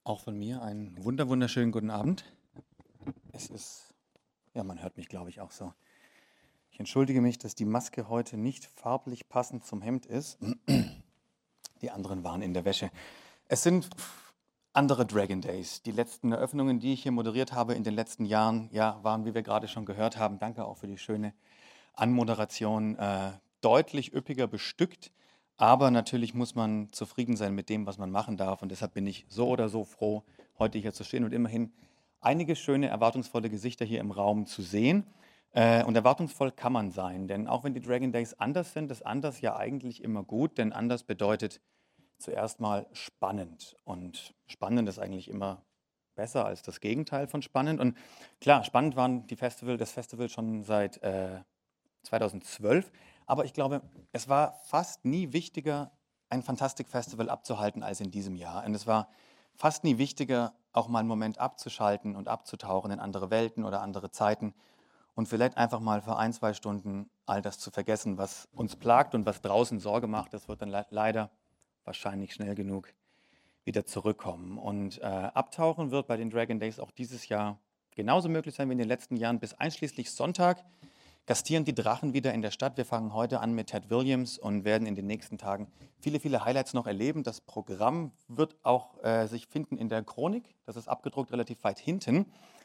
Auch von mir einen wunderschönen guten Abend. Es ist, ja, man hört mich, glaube ich, auch so. Ich entschuldige mich, dass die Maske heute nicht farblich passend zum Hemd ist. Die anderen waren in der Wäsche. Es sind andere Dragon Days. Die letzten Eröffnungen, die ich hier moderiert habe in den letzten Jahren, ja, waren, wie wir gerade schon gehört haben, danke auch für die schöne Anmoderation, deutlich üppiger bestückt. Aber natürlich muss man zufrieden sein mit dem, was man machen darf. Und deshalb bin ich so oder so froh, heute hier zu stehen und immerhin einige schöne, erwartungsvolle Gesichter hier im Raum zu sehen. Und erwartungsvoll kann man sein, denn auch wenn die Dragon Days anders sind, ist anders ja eigentlich immer gut, denn anders bedeutet zuerst mal spannend. Und spannend ist eigentlich immer besser als das Gegenteil von spannend. Und klar, spannend waren das Festival schon seit 2012. Aber ich glaube, es war fast nie wichtiger, ein Fantastic Festival abzuhalten als in diesem Jahr. Und es war fast nie wichtiger, auch mal einen Moment abzuschalten und abzutauchen in andere Welten oder andere Zeiten und vielleicht einfach mal für ein, zwei Stunden all das zu vergessen, was uns plagt und was draußen Sorge macht. Das wird dann leider wahrscheinlich schnell genug wieder zurückkommen. Und abtauchen wird bei den Dragon Days auch dieses Jahr genauso möglich sein wie in den letzten Jahren bis einschließlich Sonntag. Gastieren die Drachen wieder in der Stadt. Wir fangen heute an mit Ted Williams und werden in den nächsten Tagen viele Highlights noch erleben. Das Programm wird auch sich finden in der Chronik. Das ist abgedruckt relativ weit hinten.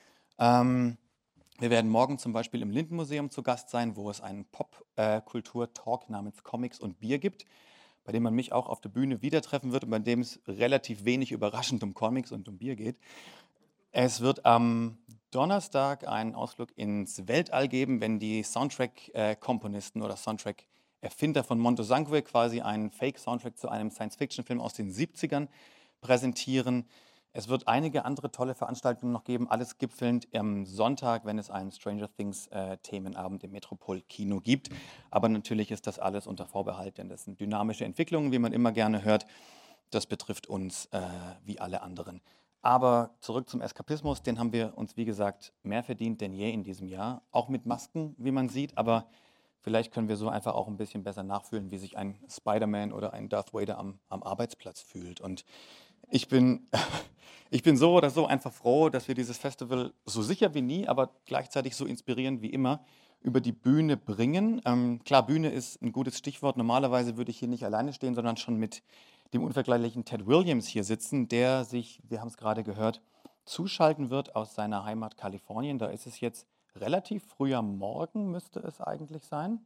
Wir werden morgen zum Beispiel im Lindenmuseum zu Gast sein, wo es einen Popkultur-Talk namens Comics und Bier gibt, bei dem man mich auch auf der Bühne wieder treffen wird und bei dem es relativ wenig überraschend um Comics und um Bier geht. Es wird am Donnerstag einen Ausflug ins Weltall geben, wenn die Soundtrack-Komponisten oder Soundtrack-Erfinder von Montesanque quasi einen Fake-Soundtrack zu einem Science-Fiction-Film aus den 70ern präsentieren. Es wird einige andere tolle Veranstaltungen noch geben, alles gipfelnd am Sonntag, wenn es einen Stranger Things-Themenabend im Metropol-Kino gibt. Aber natürlich ist das alles unter Vorbehalt, denn das sind dynamische Entwicklungen, wie man immer gerne hört. Das betrifft uns wie alle anderen. Aber zurück zum Eskapismus, den haben wir uns, wie gesagt, mehr verdient denn je in diesem Jahr. Auch mit Masken, wie man sieht, aber vielleicht können wir so einfach auch ein bisschen besser nachfühlen, wie sich ein Spider-Man oder ein Darth Vader am Arbeitsplatz fühlt. Und ich bin, ich bin so oder so einfach froh, dass wir dieses Festival so sicher wie nie, aber gleichzeitig so inspirierend wie immer über die Bühne bringen. Klar, Bühne ist ein gutes Stichwort. Normalerweise würde ich hier nicht alleine stehen, sondern schon mit dem unvergleichlichen Ted Williams hier sitzen, der sich, wir haben es gerade gehört, zuschalten wird aus seiner Heimat Kalifornien. Da ist es jetzt relativ früh am Morgen, müsste es eigentlich sein.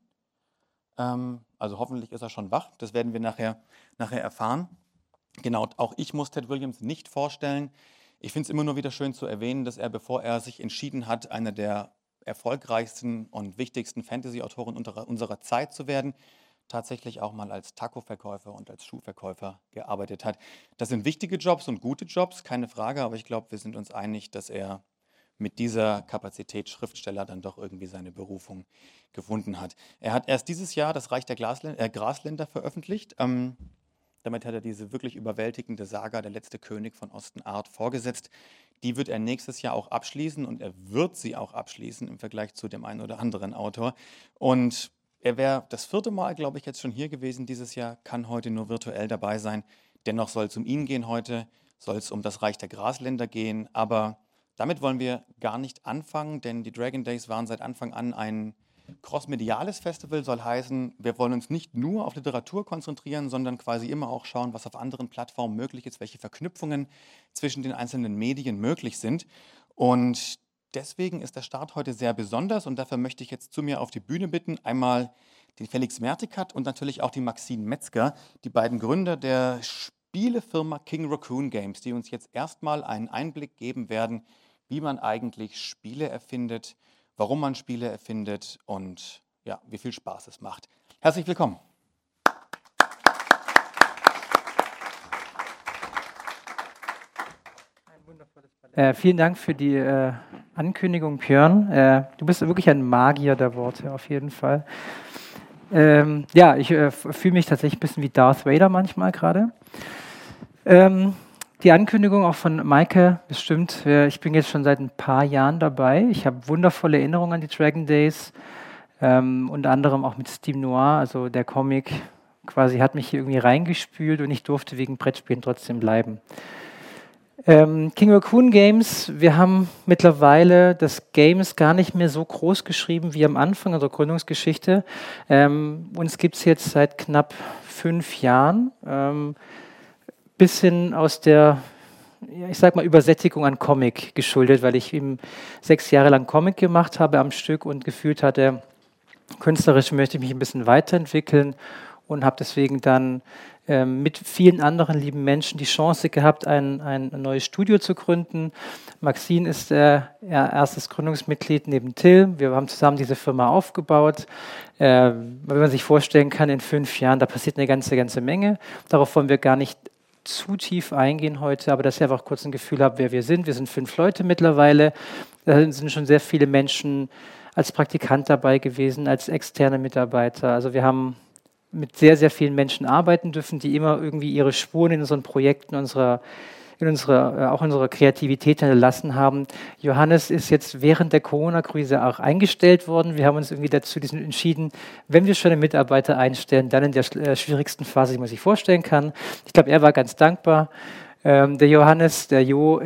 Also hoffentlich ist er schon wach, das werden wir nachher erfahren. Genau, auch ich muss Ted Williams nicht vorstellen. Ich finde es immer nur wieder schön zu erwähnen, dass er, bevor er sich entschieden hat, einer der erfolgreichsten und wichtigsten Fantasy-Autoren unserer Zeit zu werden, tatsächlich auch mal als Taco-Verkäufer und als Schuhverkäufer gearbeitet hat. Das sind wichtige Jobs und gute Jobs, keine Frage, aber ich glaube, wir sind uns einig, dass er mit dieser Kapazität Schriftsteller dann doch irgendwie seine Berufung gefunden hat. Er hat erst dieses Jahr das Reich der Grasländer veröffentlicht. Damit hat er diese wirklich überwältigende Saga Der letzte König von Osten-Art vorgesetzt. Die wird er nächstes Jahr auch abschließen und er wird sie auch abschließen im Vergleich zu dem einen oder anderen Autor. Und er wäre das 4. Mal, glaube ich, jetzt schon hier gewesen dieses Jahr, kann heute nur virtuell dabei sein. Dennoch soll es um ihn gehen heute, soll es um das Reich der Grasländer gehen. Aber damit wollen wir gar nicht anfangen, denn die Dragon Days waren seit Anfang an ein crossmediales Festival, soll heißen, wir wollen uns nicht nur auf Literatur konzentrieren, sondern quasi immer auch schauen, was auf anderen Plattformen möglich ist, welche Verknüpfungen zwischen den einzelnen Medien möglich sind. Und deswegen ist der Start heute sehr besonders und dafür möchte ich jetzt zu mir auf die Bühne bitten, einmal den Felix Mertikat und natürlich auch die Maxine Metzger, die beiden Gründer der Spielefirma King Raccoon Games, die uns jetzt erstmal einen Einblick geben werden, wie man eigentlich Spiele erfindet, warum man Spiele erfindet und ja, wie viel Spaß es macht. Herzlich willkommen. Vielen Dank für die Ankündigung, Björn. Du bist wirklich ein Magier der Worte, auf jeden Fall. Ja, ich fühle mich tatsächlich ein bisschen wie Darth Vader manchmal gerade. Die Ankündigung auch von Maike, bestimmt. Ich bin jetzt schon seit ein paar Jahren dabei. Ich habe wundervolle Erinnerungen an die Dragon Days, unter anderem auch mit Steam Noir, also der Comic quasi hat mich hier irgendwie reingespült und ich durfte wegen Brettspielen trotzdem bleiben. King Raccoon Games, wir haben mittlerweile das Games gar nicht mehr so groß geschrieben wie am Anfang unserer Gründungsgeschichte. Uns gibt es jetzt seit knapp 5 Jahren, bisschen aus der, ja, ich sag mal, Übersättigung an Comic geschuldet, weil ich eben 6 Jahre lang Comic gemacht habe am Stück und gefühlt hatte, künstlerisch möchte ich mich ein bisschen weiterentwickeln und habe deswegen dann mit vielen anderen lieben Menschen die Chance gehabt, ein neues Studio zu gründen. Maxine ist erstes Gründungsmitglied neben Till. Wir haben zusammen diese Firma aufgebaut. Wenn man sich vorstellen kann, in 5 Jahren, da passiert eine ganze Menge. Darauf wollen wir gar nicht zu tief eingehen heute, aber dass ihr einfach kurz ein Gefühl habt, wer wir sind. Wir sind 5 Leute mittlerweile. Da sind schon sehr viele Menschen als Praktikant dabei gewesen, als externe Mitarbeiter. Also wir haben mit sehr, sehr vielen Menschen arbeiten dürfen, die immer irgendwie ihre Spuren in unseren Projekten, auch in unserer Kreativität hinterlassen haben. Johannes ist jetzt während der Corona-Krise auch eingestellt worden. Wir haben uns irgendwie dazu entschieden, wenn wir schon einen Mitarbeiter einstellen, dann in der schwierigsten Phase, die man sich vorstellen kann. Ich glaube, er war ganz dankbar. Der Johannes, der Jo,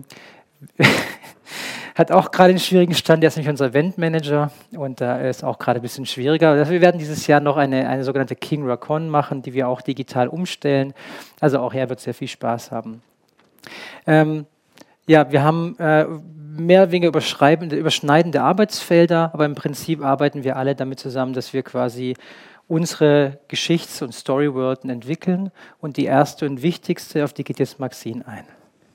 hat auch gerade einen schwierigen Stand, der ist nämlich unser Eventmanager und da ist auch gerade ein bisschen schwieriger. Also wir werden dieses Jahr noch eine sogenannte King Raccoon machen, die wir auch digital umstellen. Also auch er wird sehr viel Spaß haben. Ja, wir haben mehr oder weniger überschneidende Arbeitsfelder, aber im Prinzip arbeiten wir alle damit zusammen, dass wir quasi unsere Geschichts- und Storywelten entwickeln und die erste und wichtigste, auf die geht jetzt Maxine ein.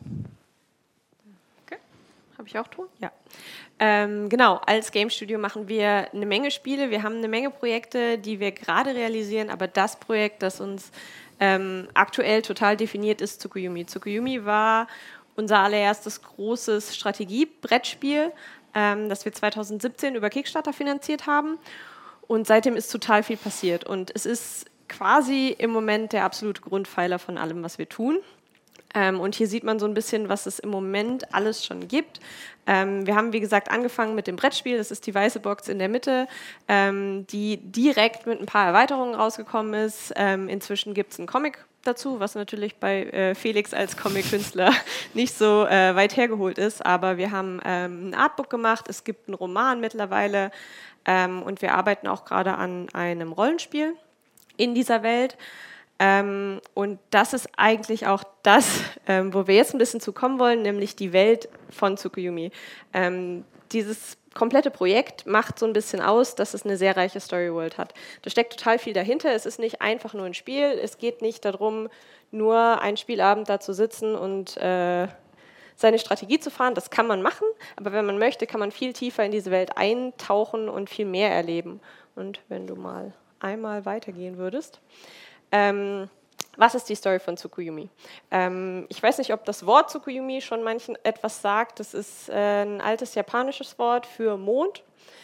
Habe ich auch tun? Ja. Genau, als Game Studio machen wir eine Menge Spiele. Wir haben eine Menge Projekte, die wir gerade realisieren, aber das Projekt, das uns aktuell total definiert, ist Tsukuyomi. Tsukuyomi war unser allererstes großes Strategie-Brettspiel, das wir 2017 über Kickstarter finanziert haben. Und seitdem ist total viel passiert. Und es ist quasi im Moment der absolute Grundpfeiler von allem, was wir tun. Und hier sieht man so ein bisschen, was es im Moment alles schon gibt. Wir haben, wie gesagt, angefangen mit dem Brettspiel. Das ist die weiße Box in der Mitte, die direkt mit ein paar Erweiterungen rausgekommen ist. Inzwischen gibt es einen Comic dazu, was natürlich bei Felix als Comic-Künstler nicht so weit hergeholt ist. Aber wir haben ein Artbook gemacht. Es gibt einen Roman mittlerweile. Und wir arbeiten auch gerade an einem Rollenspiel in dieser Welt. Und das ist eigentlich auch das, wo wir jetzt ein bisschen zu kommen wollen, nämlich die Welt von Tsukuyomi. Dieses komplette Projekt macht so ein bisschen aus, dass es eine sehr reiche Storyworld hat. Da steckt total viel dahinter. Es ist nicht einfach nur ein Spiel. Es geht nicht darum, nur einen Spielabend da zu sitzen und seine Strategie zu fahren. Das kann man machen, aber wenn man möchte, kann man viel tiefer in diese Welt eintauchen und viel mehr erleben. Und wenn du mal einmal weitergehen würdest. Was ist die Story von Tsukuyomi? Ich weiß nicht, ob das Wort Tsukuyomi schon manchen etwas sagt. Das ist ein altes japanisches Wort für Mond.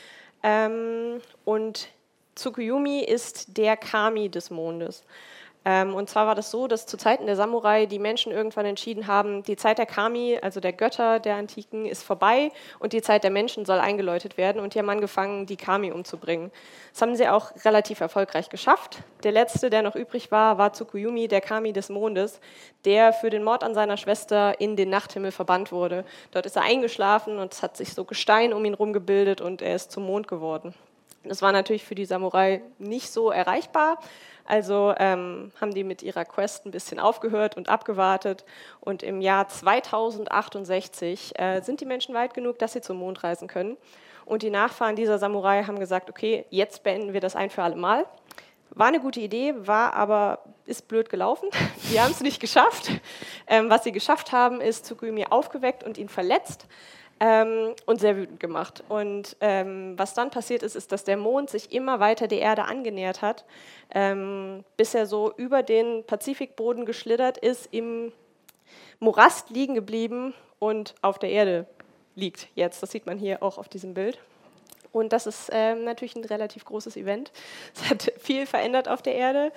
Und Tsukuyomi ist der Kami des Mondes. Und zwar war das so, dass zu Zeiten der Samurai die Menschen irgendwann entschieden haben, die Zeit der Kami, also der Götter der Antiken, ist vorbei und die Zeit der Menschen soll eingeläutet werden. Und die haben angefangen, die Kami umzubringen. Das haben sie auch relativ erfolgreich geschafft. Der letzte, der noch übrig war, war Tsukuyomi, der Kami des Mondes, der für den Mord an seiner Schwester in den Nachthimmel verbannt wurde. Dort ist er eingeschlafen und es hat sich so Gestein um ihn herum gebildet und er ist zum Mond geworden. Das war natürlich für die Samurai nicht so erreichbar. Also haben die mit ihrer Quest ein bisschen aufgehört und abgewartet. Und im Jahr 2068 sind die Menschen weit genug, dass sie zum Mond reisen können. Und die Nachfahren dieser Samurai haben gesagt, okay, jetzt beenden wir das ein für alle Mal. War eine gute Idee, ist blöd gelaufen. Die haben es nicht geschafft. Was sie geschafft haben, ist Tsukuyomi aufgeweckt und ihn verletzt. Und sehr wütend gemacht. Und was dann passiert ist, ist, dass der Mond sich immer weiter der Erde angenähert hat, bis er so über den Pazifikboden geschlittert ist, im Morast liegen geblieben und auf der Erde liegt jetzt. Das sieht man hier auch auf diesem Bild. Und das ist natürlich ein relativ großes Event. Es hat viel verändert auf der Erde.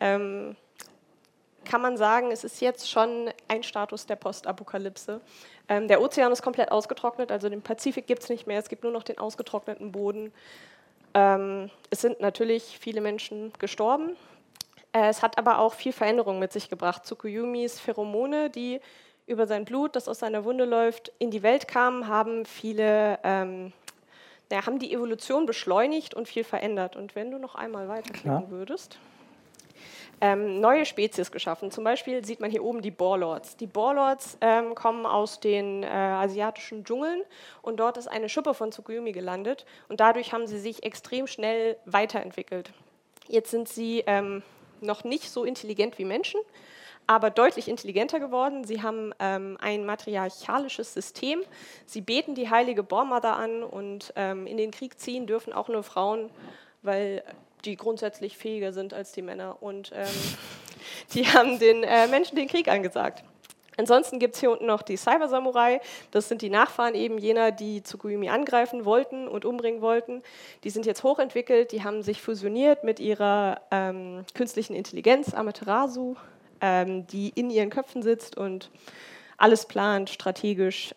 Kann man sagen, es ist jetzt schon ein Status der Postapokalypse. Der Ozean ist komplett ausgetrocknet, also den Pazifik gibt es nicht mehr, es gibt nur noch den ausgetrockneten Boden. Es sind natürlich viele Menschen gestorben. Es hat aber auch viel Veränderung mit sich gebracht. Tsukuyomis Pheromone, die über sein Blut, das aus seiner Wunde läuft, in die Welt kam, haben viele, haben die Evolution beschleunigt und viel verändert. Und wenn du noch einmal weiterklicken würdest, neue Spezies geschaffen. Zum Beispiel sieht man hier oben die Boarlords. Die Boarlords kommen aus den asiatischen Dschungeln und dort ist eine Schuppe von Tsukuyomi gelandet und dadurch haben sie sich extrem schnell weiterentwickelt. Jetzt sind sie noch nicht so intelligent wie Menschen, aber deutlich intelligenter geworden. Sie haben ein matriarchalisches System. Sie beten die heilige Boar-Mother an und in den Krieg ziehen dürfen auch nur Frauen, weil die grundsätzlich fähiger sind als die Männer. Und die haben den Menschen den Krieg angesagt. Ansonsten gibt es hier unten noch die Cyber-Samurai. Das sind die Nachfahren eben jener, die Tsukuyomi angreifen wollten und umbringen wollten. Die sind jetzt hochentwickelt, die haben sich fusioniert mit ihrer künstlichen Intelligenz, Amaterasu, die in ihren Köpfen sitzt und alles plant, strategisch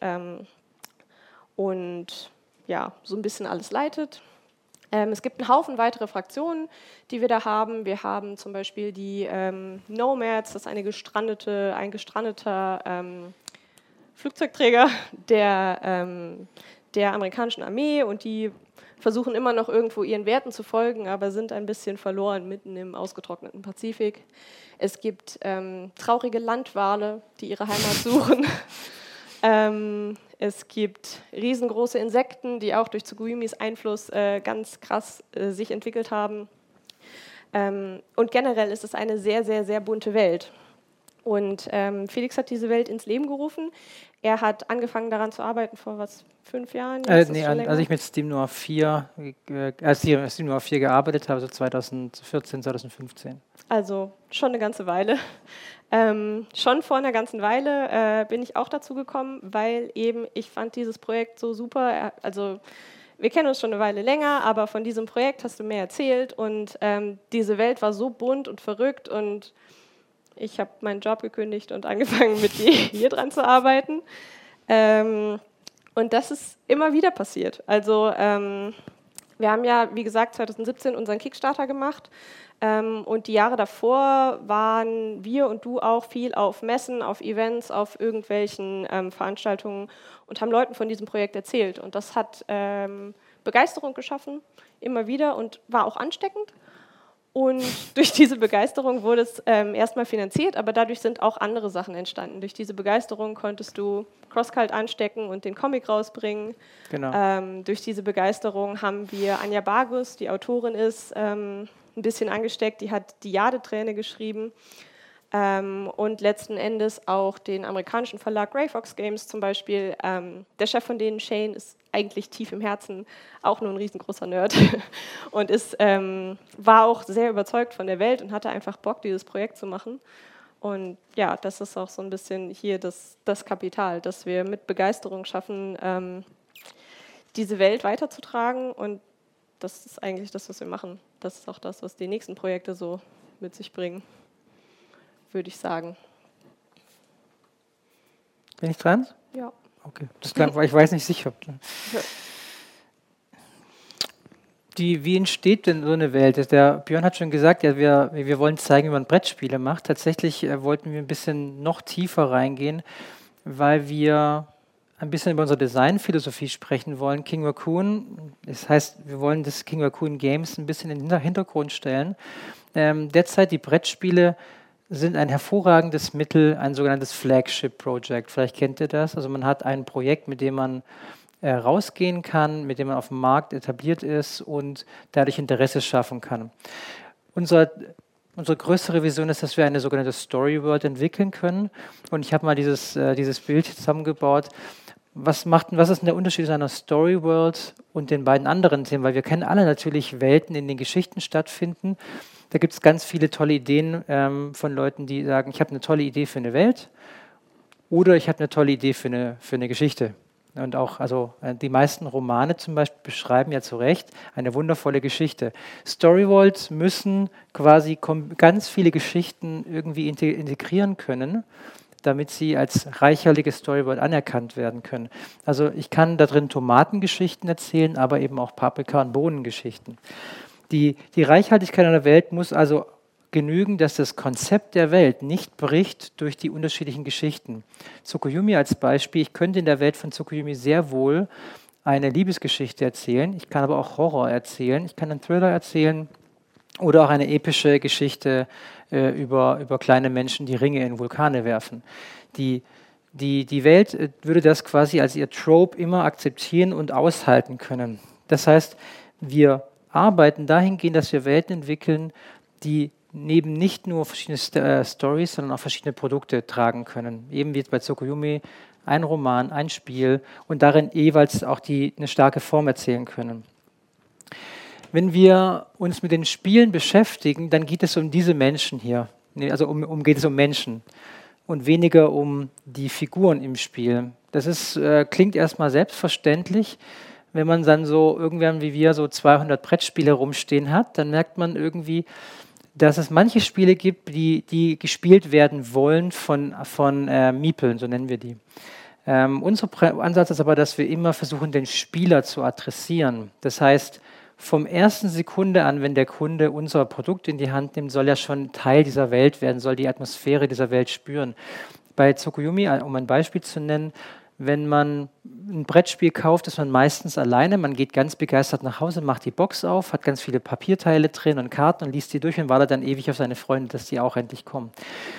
und ja, so ein bisschen alles leitet. Es gibt einen Haufen weitere Fraktionen, die wir da haben. Wir haben zum Beispiel die Nomads, das ist ein gestrandeter Flugzeugträger der amerikanischen Armee und die versuchen immer noch irgendwo ihren Werten zu folgen, aber sind ein bisschen verloren mitten im ausgetrockneten Pazifik. Es gibt traurige Landwale, die ihre Heimat suchen. Es gibt riesengroße Insekten, die auch durch Tsukuyomis Einfluss ganz krass sich entwickelt haben. Und generell ist es eine sehr, sehr, sehr bunte Welt. Und Felix hat diese Welt ins Leben gerufen. Er hat angefangen daran zu arbeiten vor 5 Jahren? Nee, als ich mit Steam Noir 4, Steam Noir 4 gearbeitet habe, so 2014, 2015. Also schon eine ganze Weile. Schon vor einer ganzen Weile bin ich auch dazu gekommen, weil eben ich fand dieses Projekt so super. Also wir kennen uns schon eine Weile länger, aber von diesem Projekt hast du mehr erzählt und diese Welt war so bunt und verrückt und ich habe meinen Job gekündigt und angefangen, mit dir hier dran zu arbeiten. Und das ist immer wieder passiert. Also wir haben ja, wie gesagt, 2017 unseren Kickstarter gemacht. Und die Jahre davor waren wir und du auch viel auf Messen, auf Events, auf irgendwelchen Veranstaltungen und haben Leuten von diesem Projekt erzählt. Und das hat Begeisterung geschaffen, immer wieder, und war auch ansteckend. Und durch diese Begeisterung wurde es erstmal finanziert, aber dadurch sind auch andere Sachen entstanden. Durch diese Begeisterung konntest du CrossCult anstecken und den Comic rausbringen. Genau. Durch diese Begeisterung haben wir Anja Bargus, die Autorin ist, ein bisschen angesteckt. Die hat die Jade-Träne geschrieben. Und letzten Endes auch den amerikanischen Verlag Grey Fox Games zum Beispiel. Der Chef von denen, Shane, ist eigentlich tief im Herzen auch nur ein riesengroßer Nerd und war auch sehr überzeugt von der Welt und hatte einfach Bock, dieses Projekt zu machen. Und ja, das ist auch so ein bisschen hier das Kapital, dass wir mit Begeisterung schaffen, diese Welt weiterzutragen. Und das ist eigentlich das, was wir machen. Das ist auch das, was die nächsten Projekte so mit sich bringen, würde ich sagen. Bin ich dran? Ja. Okay, das klang, ich weiß nicht sicher. Wie entsteht denn so eine Welt? Der Björn hat schon gesagt, ja, wir wollen zeigen, wie man Brettspiele macht. Tatsächlich wollten wir ein bisschen noch tiefer reingehen, weil wir ein bisschen über unsere Designphilosophie sprechen wollen. King Raccoon, das heißt, wir wollen das King Raccoon Games ein bisschen in den Hintergrund stellen. Derzeit die Brettspiele sind ein hervorragendes Mittel, ein sogenanntes Flagship-Project. Vielleicht kennt ihr das. Also man hat ein Projekt, mit dem man rausgehen kann, mit dem man auf dem Markt etabliert ist und dadurch Interesse schaffen kann. Unsere größere Vision ist, dass wir eine sogenannte Story World entwickeln können. Und ich habe mal dieses Bild zusammengebaut. Was ist denn der Unterschied zwischen einer Story World und den beiden anderen Themen? Weil wir kennen alle natürlich Welten, in denen Geschichten stattfinden. Da gibt es ganz viele tolle Ideen von Leuten, die sagen, ich habe eine tolle Idee für eine Welt oder ich habe eine tolle Idee für eine Geschichte. Und auch, also die meisten Romane zum Beispiel beschreiben ja zu Recht eine wundervolle Geschichte. Storyworlds müssen quasi ganz viele Geschichten irgendwie integrieren können, damit sie als reichhaltige Storyworld anerkannt werden können. Also ich kann da drin Tomatengeschichten erzählen, aber eben auch Paprika- und Bohnengeschichten. Die Reichhaltigkeit einer Welt muss also genügen, dass das Konzept der Welt nicht bricht durch die unterschiedlichen Geschichten. Tsukuyomi als Beispiel, ich könnte in der Welt von Tsukuyomi sehr wohl eine Liebesgeschichte erzählen, ich kann aber auch Horror erzählen, ich kann einen Thriller erzählen oder auch eine epische Geschichte über kleine Menschen, die Ringe in Vulkane werfen. Die Welt würde das quasi als ihr Trope immer akzeptieren und aushalten können. Das heißt, wir arbeiten dahingehend, dass wir Welten entwickeln, die neben nicht nur verschiedene Stories, sondern auch verschiedene Produkte tragen können. Eben wie jetzt bei Tsukuyomi ein Roman, ein Spiel und darin jeweils auch eine starke Form erzählen können. Wenn wir uns mit den Spielen beschäftigen, dann geht es um diese Menschen hier. Also geht es um Menschen und weniger um die Figuren im Spiel. Das klingt erstmal selbstverständlich. Wenn man dann so irgendwann wie wir so 200 Brettspiele rumstehen hat, dann merkt man irgendwie, dass es manche Spiele gibt, die gespielt werden wollen von Miepeln, so nennen wir die. Unser Ansatz ist aber, dass wir immer versuchen, den Spieler zu adressieren. Das heißt, vom ersten Sekunde an, wenn der Kunde unser Produkt in die Hand nimmt, soll er schon Teil dieser Welt werden, soll die Atmosphäre dieser Welt spüren. Bei Tsukuyomi, um ein Beispiel zu nennen, wenn man ein Brettspiel kauft, ist man meistens alleine, man geht ganz begeistert nach Hause, macht die Box auf, hat ganz viele Papierteile drin und Karten und liest die durch und wartet dann ewig auf seine Freunde, dass die auch endlich kommen.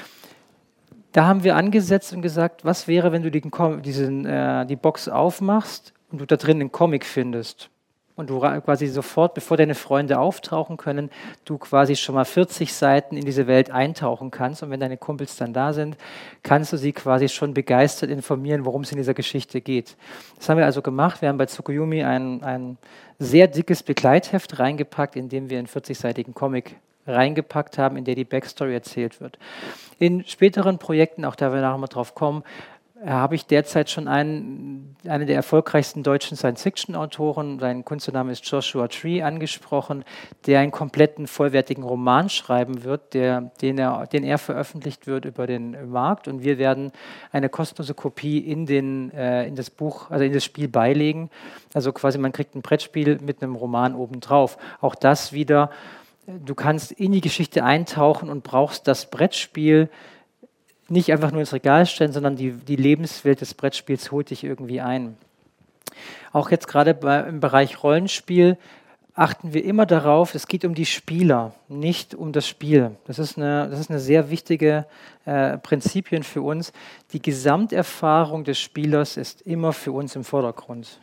Da haben wir angesetzt und gesagt, was wäre, wenn du die Box aufmachst und du da drin einen Comic findest und du quasi sofort, bevor deine Freunde auftauchen können, du quasi schon mal 40 Seiten in diese Welt eintauchen kannst und wenn deine Kumpels dann da sind, kannst du sie quasi schon begeistert informieren, worum es in dieser Geschichte geht. Das haben wir also gemacht. Wir haben bei Tsukuyomi ein sehr dickes Begleitheft reingepackt, in dem wir einen 40-seitigen Comic reingepackt haben, in der die Backstory erzählt wird. In späteren Projekten, auch da wir nachher mal drauf kommen, habe ich derzeit schon einen der erfolgreichsten deutschen Science-Fiction-Autoren, sein Künstlername ist Joshua Tree, angesprochen, der einen kompletten, vollwertigen Roman schreiben wird, den er veröffentlicht wird über den Markt und wir werden eine kostenlose Kopie in das Buch, also in das Spiel beilegen. Also quasi man kriegt ein Brettspiel mit einem Roman obendrauf. Auch das wieder, du kannst in die Geschichte eintauchen und brauchst das Brettspiel nicht einfach nur ins Regal stellen, sondern die Lebenswelt des Brettspiels holt dich irgendwie ein. Auch jetzt gerade im Bereich Rollenspiel achten wir immer darauf, es geht um die Spieler, nicht um das Spiel. Das ist eine sehr wichtige Prinzipien für uns. Die Gesamterfahrung des Spielers ist immer für uns im Vordergrund.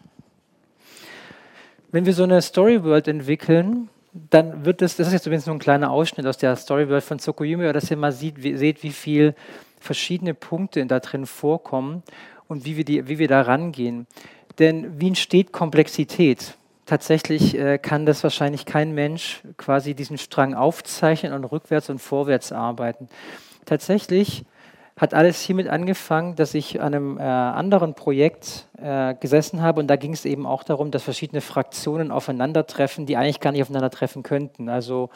Wenn wir so eine Storyworld entwickeln, dann wird das ist jetzt übrigens nur ein kleiner Ausschnitt aus der Storyworld von Tsukuyomi, dass ihr mal seht, wie viel verschiedene Punkte da drin vorkommen und wie wir da rangehen. Denn wie entsteht Komplexität? Tatsächlich kann das wahrscheinlich kein Mensch quasi diesen Strang aufzeichnen und rückwärts und vorwärts arbeiten. Tatsächlich hat alles hiermit angefangen, dass ich an einem anderen Projekt gesessen habe und da ging es eben auch darum, dass verschiedene Fraktionen aufeinandertreffen, die eigentlich gar nicht aufeinandertreffen könnten. Also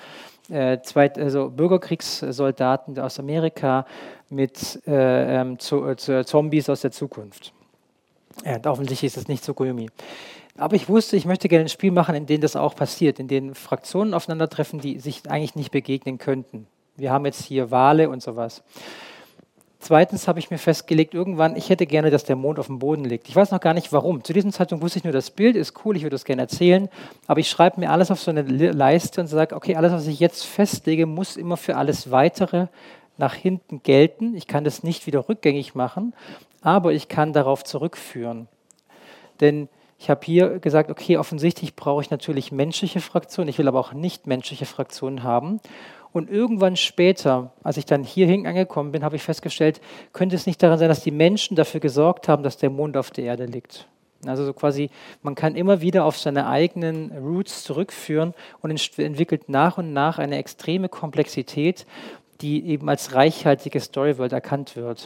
Bürgerkriegssoldaten aus Amerika mit Zombies aus der Zukunft. Ja, offensichtlich ist das nicht Tsukuyomi. Aber ich wusste, ich möchte gerne ein Spiel machen, in dem das auch passiert, in dem Fraktionen aufeinandertreffen, die sich eigentlich nicht begegnen könnten. Wir haben jetzt hier Wale und sowas. Zweitens habe ich mir festgelegt, irgendwann, ich hätte gerne, dass der Mond auf dem Boden liegt. Ich weiß noch gar nicht, warum. Zu diesem Zeitpunkt wusste ich nur, das Bild ist cool, ich würde das gerne erzählen, aber ich schreibe mir alles auf so eine Leiste und sage, okay, alles, was ich jetzt festlege, muss immer für alles Weitere nach hinten gelten. Ich kann das nicht wieder rückgängig machen, aber ich kann darauf zurückführen. Denn ich habe hier gesagt, okay, offensichtlich brauche ich natürlich menschliche Fraktionen, ich will aber auch nicht menschliche Fraktionen haben. Und irgendwann später, als ich dann hierhin angekommen bin, habe ich festgestellt, könnte es nicht daran sein, dass die Menschen dafür gesorgt haben, dass der Mond auf der Erde liegt. Also so quasi, man kann immer wieder auf seine eigenen Roots zurückführen und entwickelt nach und nach eine extreme Komplexität, die eben als reichhaltige Storyworld erkannt wird.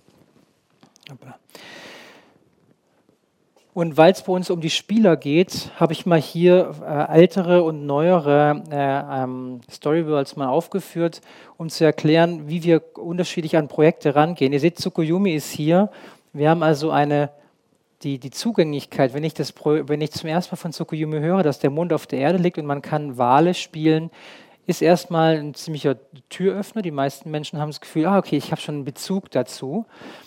Und weil es bei uns um die Spieler geht, habe ich mal hier ältere und neuere Storyworlds mal aufgeführt, um zu erklären, wie wir unterschiedlich an Projekte rangehen. Ihr seht, Tsukuyomi ist hier. Wir haben also die Zugänglichkeit, wenn ich zum ersten Mal von Tsukuyomi höre, dass der Mond auf der Erde liegt und man kann Wale spielen, ist erstmal ein ziemlicher Türöffner. Die meisten Menschen haben das Gefühl, okay, ich habe schon einen Bezug dazu.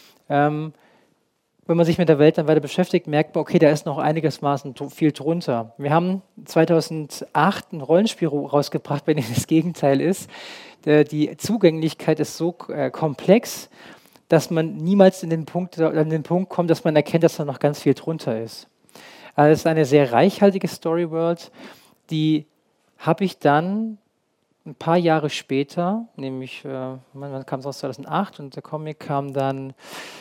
Wenn man sich mit der Welt dann weiter beschäftigt, merkt man, okay, da ist noch einigermaßen viel drunter. Wir haben 2008 ein Rollenspiel rausgebracht, bei dem das Gegenteil ist. Die Zugänglichkeit ist so komplex, dass man niemals an den Punkt kommt, dass man erkennt, dass da noch ganz viel drunter ist. Also es ist eine sehr reichhaltige Storyworld, die habe ich dann ein paar Jahre später, nämlich, wann kam es aus, 2008 und der Comic kam dann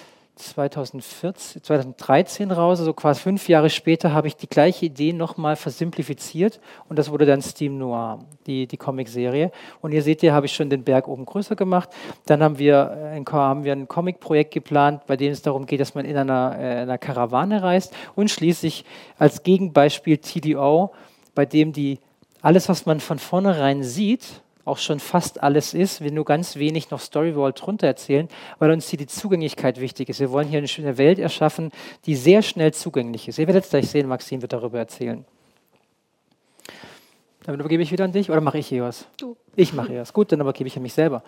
2013 raus, also quasi 5 Jahre später habe ich die gleiche Idee nochmal versimplifiziert und das wurde dann Steam Noir, die Comicserie. Und hier seht ihr, habe ich schon den Berg oben größer gemacht. Dann haben wir ein Comic-Projekt geplant, bei dem es darum geht, dass man in einer Karawane reist und schließlich als Gegenbeispiel TDO, bei dem alles, was man von vornherein sieht, auch schon fast alles ist, wir nur ganz wenig noch Storyworld drunter erzählen, weil uns hier die Zugänglichkeit wichtig ist. Wir wollen hier eine schöne Welt erschaffen, die sehr schnell zugänglich ist. Ihr werdet es gleich sehen, Maxine wird darüber erzählen. Damit übergebe ich wieder an dich, oder mache ich hier was? Du. Ich mache hier was. Gut, dann übergebe ich an mich selber.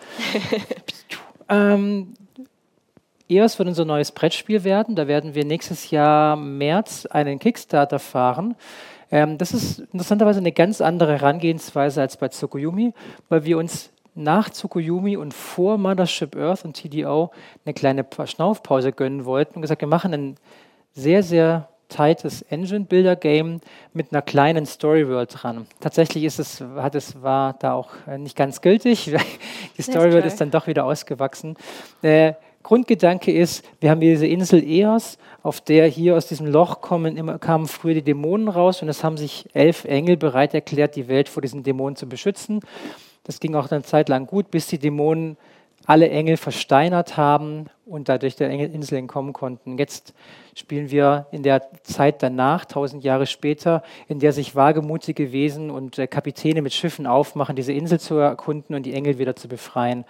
EOS wird unser neues Brettspiel werden. Da werden wir nächstes Jahr März einen Kickstarter fahren. Das ist interessanterweise eine ganz andere Herangehensweise als bei Tsukuyomi, weil wir uns nach Tsukuyomi und vor Mothership Earth und TDO eine kleine Schnaufpause gönnen wollten und gesagt, wir machen ein sehr, sehr tightes Engine-Builder-Game mit einer kleinen Storyworld dran. Tatsächlich war da auch nicht ganz gültig. Die Storyworld ist dann doch wieder ausgewachsen. Grundgedanke ist, wir haben diese Insel Eos, auf der hier aus diesem Loch kamen früher die Dämonen raus und es haben sich 11 Engel bereit erklärt, die Welt vor diesen Dämonen zu beschützen. Das ging auch eine Zeit lang gut, bis die Dämonen alle Engel versteinert haben und dadurch der Insel entkommen konnten. Jetzt spielen wir in der Zeit danach, 1000 Jahre später, in der sich wagemutige Wesen und Kapitäne mit Schiffen aufmachen, diese Insel zu erkunden und die Engel wieder zu befreien.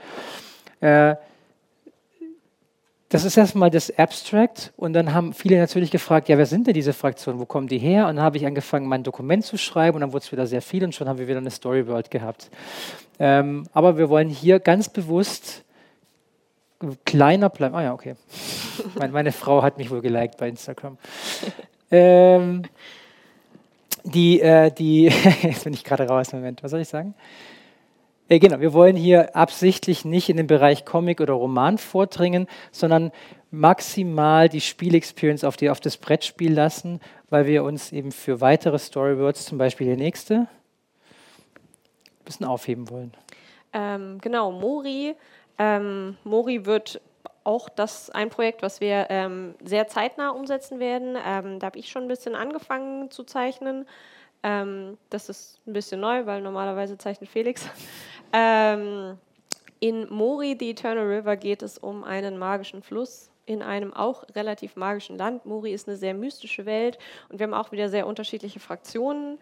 Das ist erstmal das Abstract und dann haben viele natürlich gefragt, ja, wer sind denn diese Fraktionen, wo kommen die her? Und dann habe ich angefangen, mein Dokument zu schreiben und dann wurde es wieder sehr viel und schon haben wir wieder eine Storyworld gehabt. Aber wir wollen hier ganz bewusst kleiner bleiben. Ah ja, okay. Meine Frau hat mich wohl geliked bei Instagram. Jetzt bin ich gerade raus, Moment, was soll ich sagen? Genau, wir wollen hier absichtlich nicht in den Bereich Comic oder Roman vordringen, sondern maximal die Spielexperience auf das Brettspiel lassen, weil wir uns eben für weitere Storyworlds, zum Beispiel die nächste, ein bisschen aufheben wollen. Genau, Mori. Mori wird auch ein Projekt, was wir sehr zeitnah umsetzen werden. Da habe ich schon ein bisschen angefangen zu zeichnen. Das ist ein bisschen neu, weil normalerweise zeichnet Felix. In Mori, The Eternal River, geht es um einen magischen Fluss in einem auch relativ magischen Land. Mori ist eine sehr mystische Welt und wir haben auch wieder sehr unterschiedliche Fraktionen,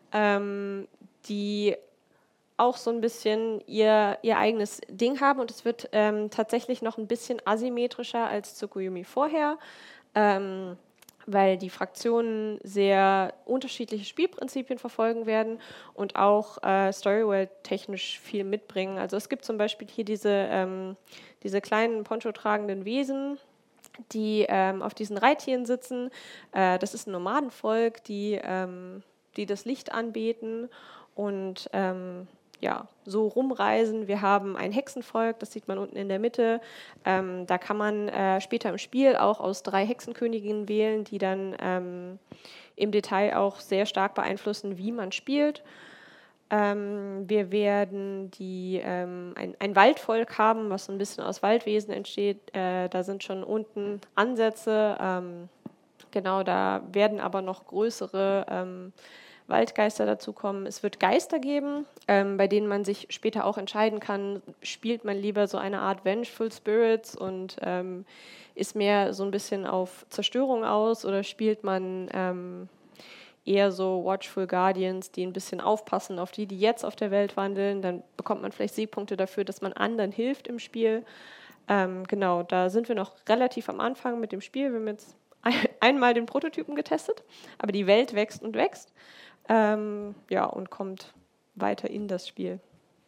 die auch so ein bisschen ihr eigenes Ding haben und es wird tatsächlich noch ein bisschen asymmetrischer als Tsukuyomi vorher. Weil die Fraktionen sehr unterschiedliche Spielprinzipien verfolgen werden und auch Storyworld-technisch viel mitbringen. Also es gibt zum Beispiel hier diese kleinen poncho-tragenden Wesen, die auf diesen Reittieren sitzen. Das ist ein Nomadenvolk, die das Licht anbeten und so rumreisen. Wir haben ein Hexenvolk, das sieht man unten in der Mitte. Da kann man später im Spiel auch aus 3 Hexenköniginnen wählen, die dann im Detail auch sehr stark beeinflussen, wie man spielt. Wir werden ein Waldvolk haben, was so ein bisschen aus Waldwesen entsteht. Da sind schon unten Ansätze. Genau, da werden aber noch größere Waldgeister dazukommen. Es wird Geister geben, bei denen man sich später auch entscheiden kann, spielt man lieber so eine Art Vengeful Spirits und ist mehr so ein bisschen auf Zerstörung aus oder spielt man eher so Watchful Guardians, die ein bisschen aufpassen auf die jetzt auf der Welt wandeln. Dann bekommt man vielleicht Siegpunkte dafür, dass man anderen hilft im Spiel. Genau, da sind wir noch relativ am Anfang mit dem Spiel. Wir haben jetzt einmal den Prototypen getestet, aber die Welt wächst und wächst. Und kommt weiter in das Spiel.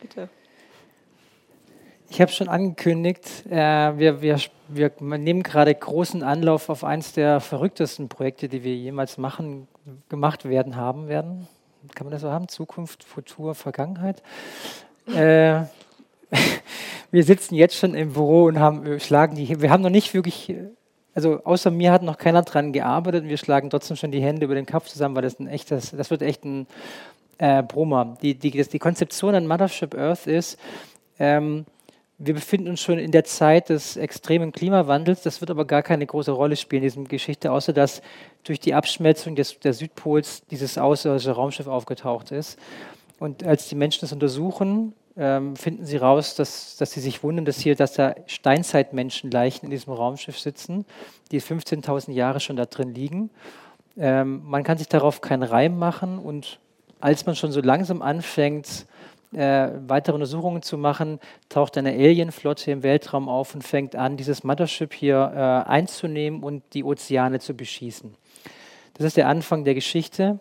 Bitte. Ich habe schon angekündigt, wir nehmen gerade großen Anlauf auf eines der verrücktesten Projekte, die wir jemals gemacht werden, haben werden. Kann man das so haben? Zukunft, Futur, Vergangenheit? Wir sitzen jetzt schon im Büro und wir haben noch nicht wirklich, also außer mir hat noch keiner dran gearbeitet und wir schlagen trotzdem schon die Hände über den Kopf zusammen, weil das wird echt ein Brummer. Die Konzeption an Mothership Earth ist, wir befinden uns schon in der Zeit des extremen Klimawandels. Das wird aber gar keine große Rolle spielen in dieser Geschichte, außer dass durch die Abschmelzung der Südpols dieses außerirdische Raumschiff aufgetaucht ist. Und als die Menschen das untersuchen, finden sie raus, dass sie sich wundern, dass da Steinzeitmenschenleichen in diesem Raumschiff sitzen, die 15.000 Jahre schon da drin liegen. Man kann sich darauf keinen Reim machen und als man schon so langsam anfängt, weitere Untersuchungen zu machen, taucht eine Alienflotte im Weltraum auf und fängt an, dieses Mothership hier einzunehmen und die Ozeane zu beschießen. Das ist der Anfang der Geschichte.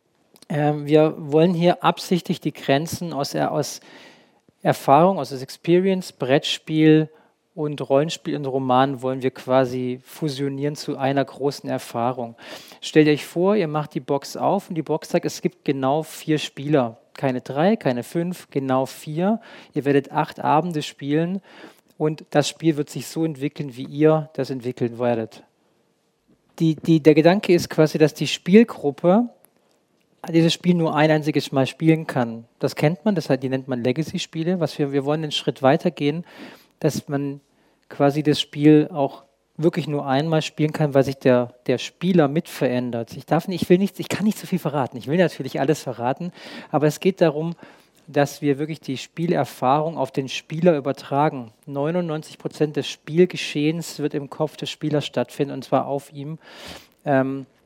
Wir wollen hier absichtlich die Grenzen aus Erfahrung, aus Experience, Brettspiel und Rollenspiel und Roman wollen wir quasi fusionieren zu einer großen Erfahrung. Stellt euch vor, ihr macht die Box auf und die Box sagt, es gibt genau 4 Spieler. Keine 3, keine 5, genau 4. Ihr werdet 8 Abende spielen und das Spiel wird sich so entwickeln, wie ihr das entwickeln werdet. Der Gedanke ist quasi, dass die Spielgruppe dieses Spiel nur ein einziges Mal spielen kann. Das kennt man, die nennt man Legacy-Spiele. Wir wollen einen Schritt weiter gehen, dass man quasi das Spiel auch wirklich nur einmal spielen kann, weil sich der Spieler mit verändert. Ich kann nicht so viel verraten. Ich will natürlich alles verraten, aber es geht darum, dass wir wirklich die Spielerfahrung auf den Spieler übertragen. 99% des Spielgeschehens wird im Kopf des Spielers stattfinden, und zwar auf ihm. Da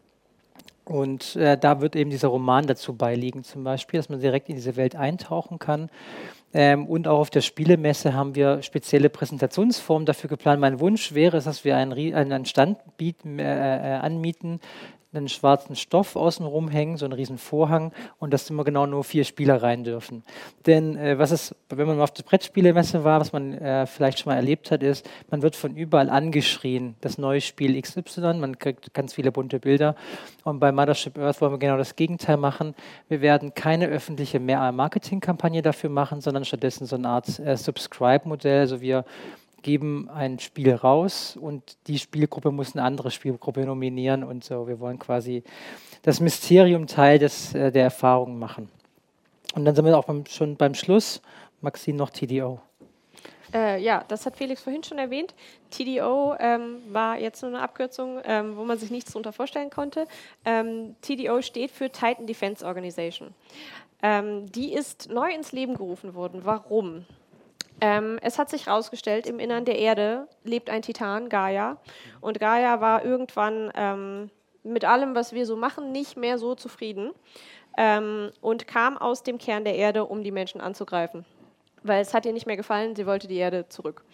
wird eben dieser Roman dazu beiliegen, zum Beispiel, dass man direkt in diese Welt eintauchen kann. Und auch auf der Spielemesse haben wir spezielle Präsentationsformen dafür geplant. Mein Wunsch wäre es, dass wir einen Stand anmieten, einen schwarzen Stoff außenrum hängen, so einen riesen Vorhang, und dass immer genau nur 4 Spieler rein dürfen. Denn wenn man mal auf der Brettspielemesse war, was man vielleicht schon mal erlebt hat, ist, man wird von überall angeschrien, das neue Spiel XY, man kriegt ganz viele bunte Bilder. Und bei Mothership Earth wollen wir genau das Gegenteil machen. Wir werden keine öffentliche Marketingkampagne dafür machen, sondern stattdessen so eine Art Subscribe-Modell. Also wir geben ein Spiel raus und die Spielgruppe muss eine andere Spielgruppe nominieren und so. Wir wollen quasi das Mysterium Teil der Erfahrung machen. Und dann sind wir auch schon beim Schluss. Maxine, noch TDO. Ja, das hat Felix vorhin schon erwähnt. TDO war jetzt nur eine Abkürzung, wo man sich nichts darunter vorstellen konnte. TDO steht für Titan Defense Organization. Die ist neu ins Leben gerufen worden. Warum? Es hat sich herausgestellt, im Innern der Erde lebt ein Titan, Gaia. Und Gaia war irgendwann mit allem, was wir so machen, nicht mehr so zufrieden und kam aus dem Kern der Erde, um die Menschen anzugreifen. Weil es hat ihr nicht mehr gefallen, sie wollte die Erde zurück.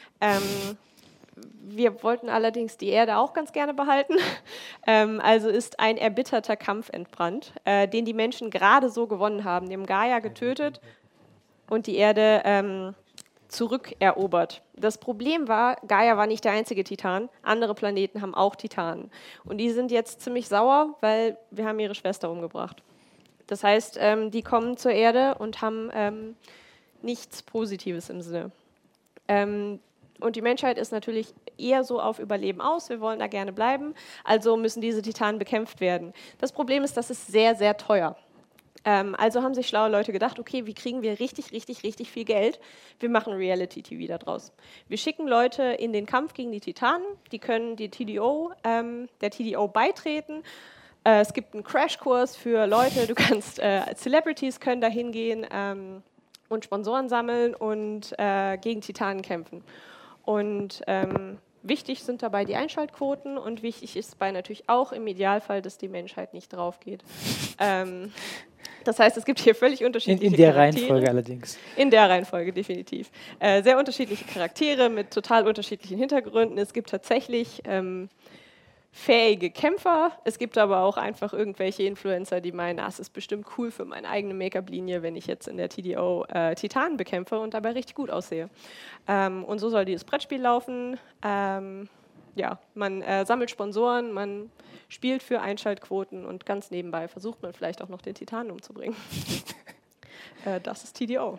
Wir wollten allerdings die Erde auch ganz gerne behalten. Also ist ein erbitterter Kampf entbrannt, den die Menschen gerade so gewonnen haben. Die haben Gaia getötet und die Erde zurückerobert. Das Problem war, Gaia war nicht der einzige Titan. Andere Planeten haben auch Titanen. Und die sind jetzt ziemlich sauer, weil wir haben ihre Schwester umgebracht. Das heißt, die kommen zur Erde und haben nichts Positives im Sinne. Und die Menschheit ist natürlich eher so auf Überleben aus. Wir wollen da gerne bleiben. Also müssen diese Titanen bekämpft werden. Das Problem ist, das ist sehr, sehr teuer. Also haben sich schlaue Leute gedacht, okay, wie kriegen wir richtig, richtig, richtig viel Geld? Wir machen Reality-TV daraus. Wir schicken Leute in den Kampf gegen die Titanen, die können der TDO beitreten. Es gibt einen Crashkurs für Leute, Celebrities können da hingehen und Sponsoren sammeln und gegen Titanen kämpfen. Und wichtig sind dabei die Einschaltquoten und wichtig ist dabei natürlich auch im Idealfall, dass die Menschheit nicht drauf geht. Das heißt, es gibt hier völlig unterschiedliche In der Charaktere. Reihenfolge allerdings. In der Reihenfolge, definitiv. Sehr unterschiedliche Charaktere mit total unterschiedlichen Hintergründen. Es gibt tatsächlich fähige Kämpfer. Es gibt aber auch einfach irgendwelche Influencer, die meinen, es ist bestimmt cool für meine eigene Make-up-Linie, wenn ich jetzt in der TDO Titanen bekämpfe und dabei richtig gut aussehe. Und so soll dieses Brettspiel laufen. Ja, man sammelt Sponsoren, man spielt für Einschaltquoten und ganz nebenbei versucht man vielleicht auch noch den Titanen umzubringen. Das ist TDO.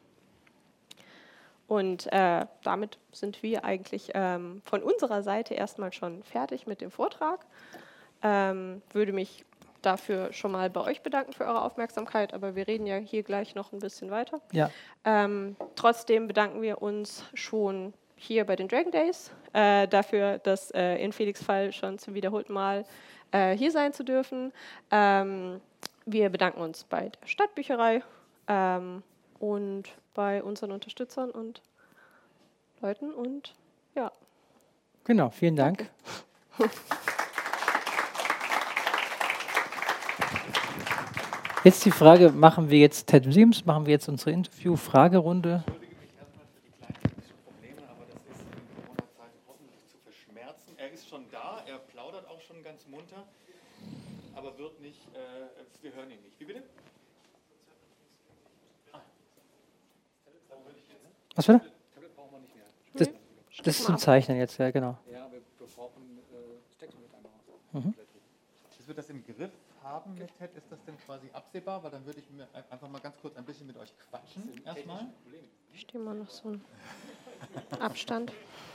Und damit sind wir eigentlich von unserer Seite erstmal schon fertig mit dem Vortrag. Würde mich dafür schon mal bei euch bedanken für eure Aufmerksamkeit, aber wir reden ja hier gleich noch ein bisschen weiter. Ja. Trotzdem bedanken wir uns schon hier bei den Dragon Days dafür, dass in Felix' Fall schon zum wiederholten Mal hier sein zu dürfen. Wir bedanken uns bei der Stadtbücherei und bei unseren Unterstützern und Leuten und ja. Genau, vielen Dank. Jetzt die Frage, machen wir jetzt TED Museums, machen wir jetzt unsere Interview-Fragerunde? Ich entschuldige mich erstmal für die kleinen technischen Probleme, aber das ist in Corona-Zeiten hoffentlich zu verschmerzen. Er ist schon da, er plaudert auch schon ganz munter, aber wird nicht, wir hören ihn nicht. Wie bitte? Was bitte? Das ist zum Zeichnen jetzt, ja, genau. Ja, wir brauchen Text mit einmal. Bis wir das im Griff haben mit TED, ist das denn quasi absehbar? Weil dann würde ich mir einfach mal ganz kurz ein bisschen mit euch quatschen erstmal. Ich stehe mal noch so einen Abstand.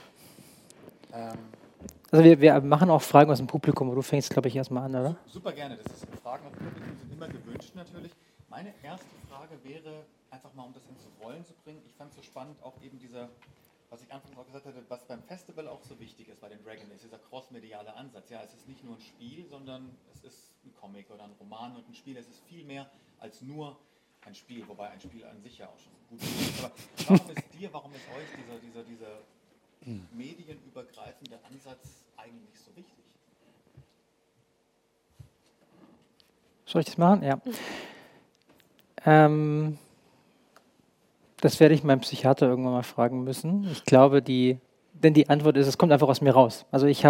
Also wir machen auch Fragen aus dem Publikum, aber du fängst, glaube ich, erstmal an, oder? Super gerne. Das ist Fragen aus dem Publikum sind immer gewünscht natürlich. Meine erste Frage wäre, einfach mal um das ins Rollen zu bringen. Ich fand es so spannend, auch eben dieser, was ich anfangs auch gesagt hatte, was beim Festival auch so wichtig ist bei den Dragon Days, dieser crossmediale Ansatz. Ja, es ist nicht nur ein Spiel, sondern es ist ein Comic oder ein Roman und ein Spiel. Es ist viel mehr als nur ein Spiel, wobei ein Spiel an sich ja auch schon gut ist. Aber warum ist euch dieser medienübergreifende Ansatz eigentlich so wichtig? Soll ich das machen? Ja. Das werde ich meinen Psychiater irgendwann mal fragen müssen. Ich glaube, denn die Antwort ist, es kommt einfach aus mir raus. Also ich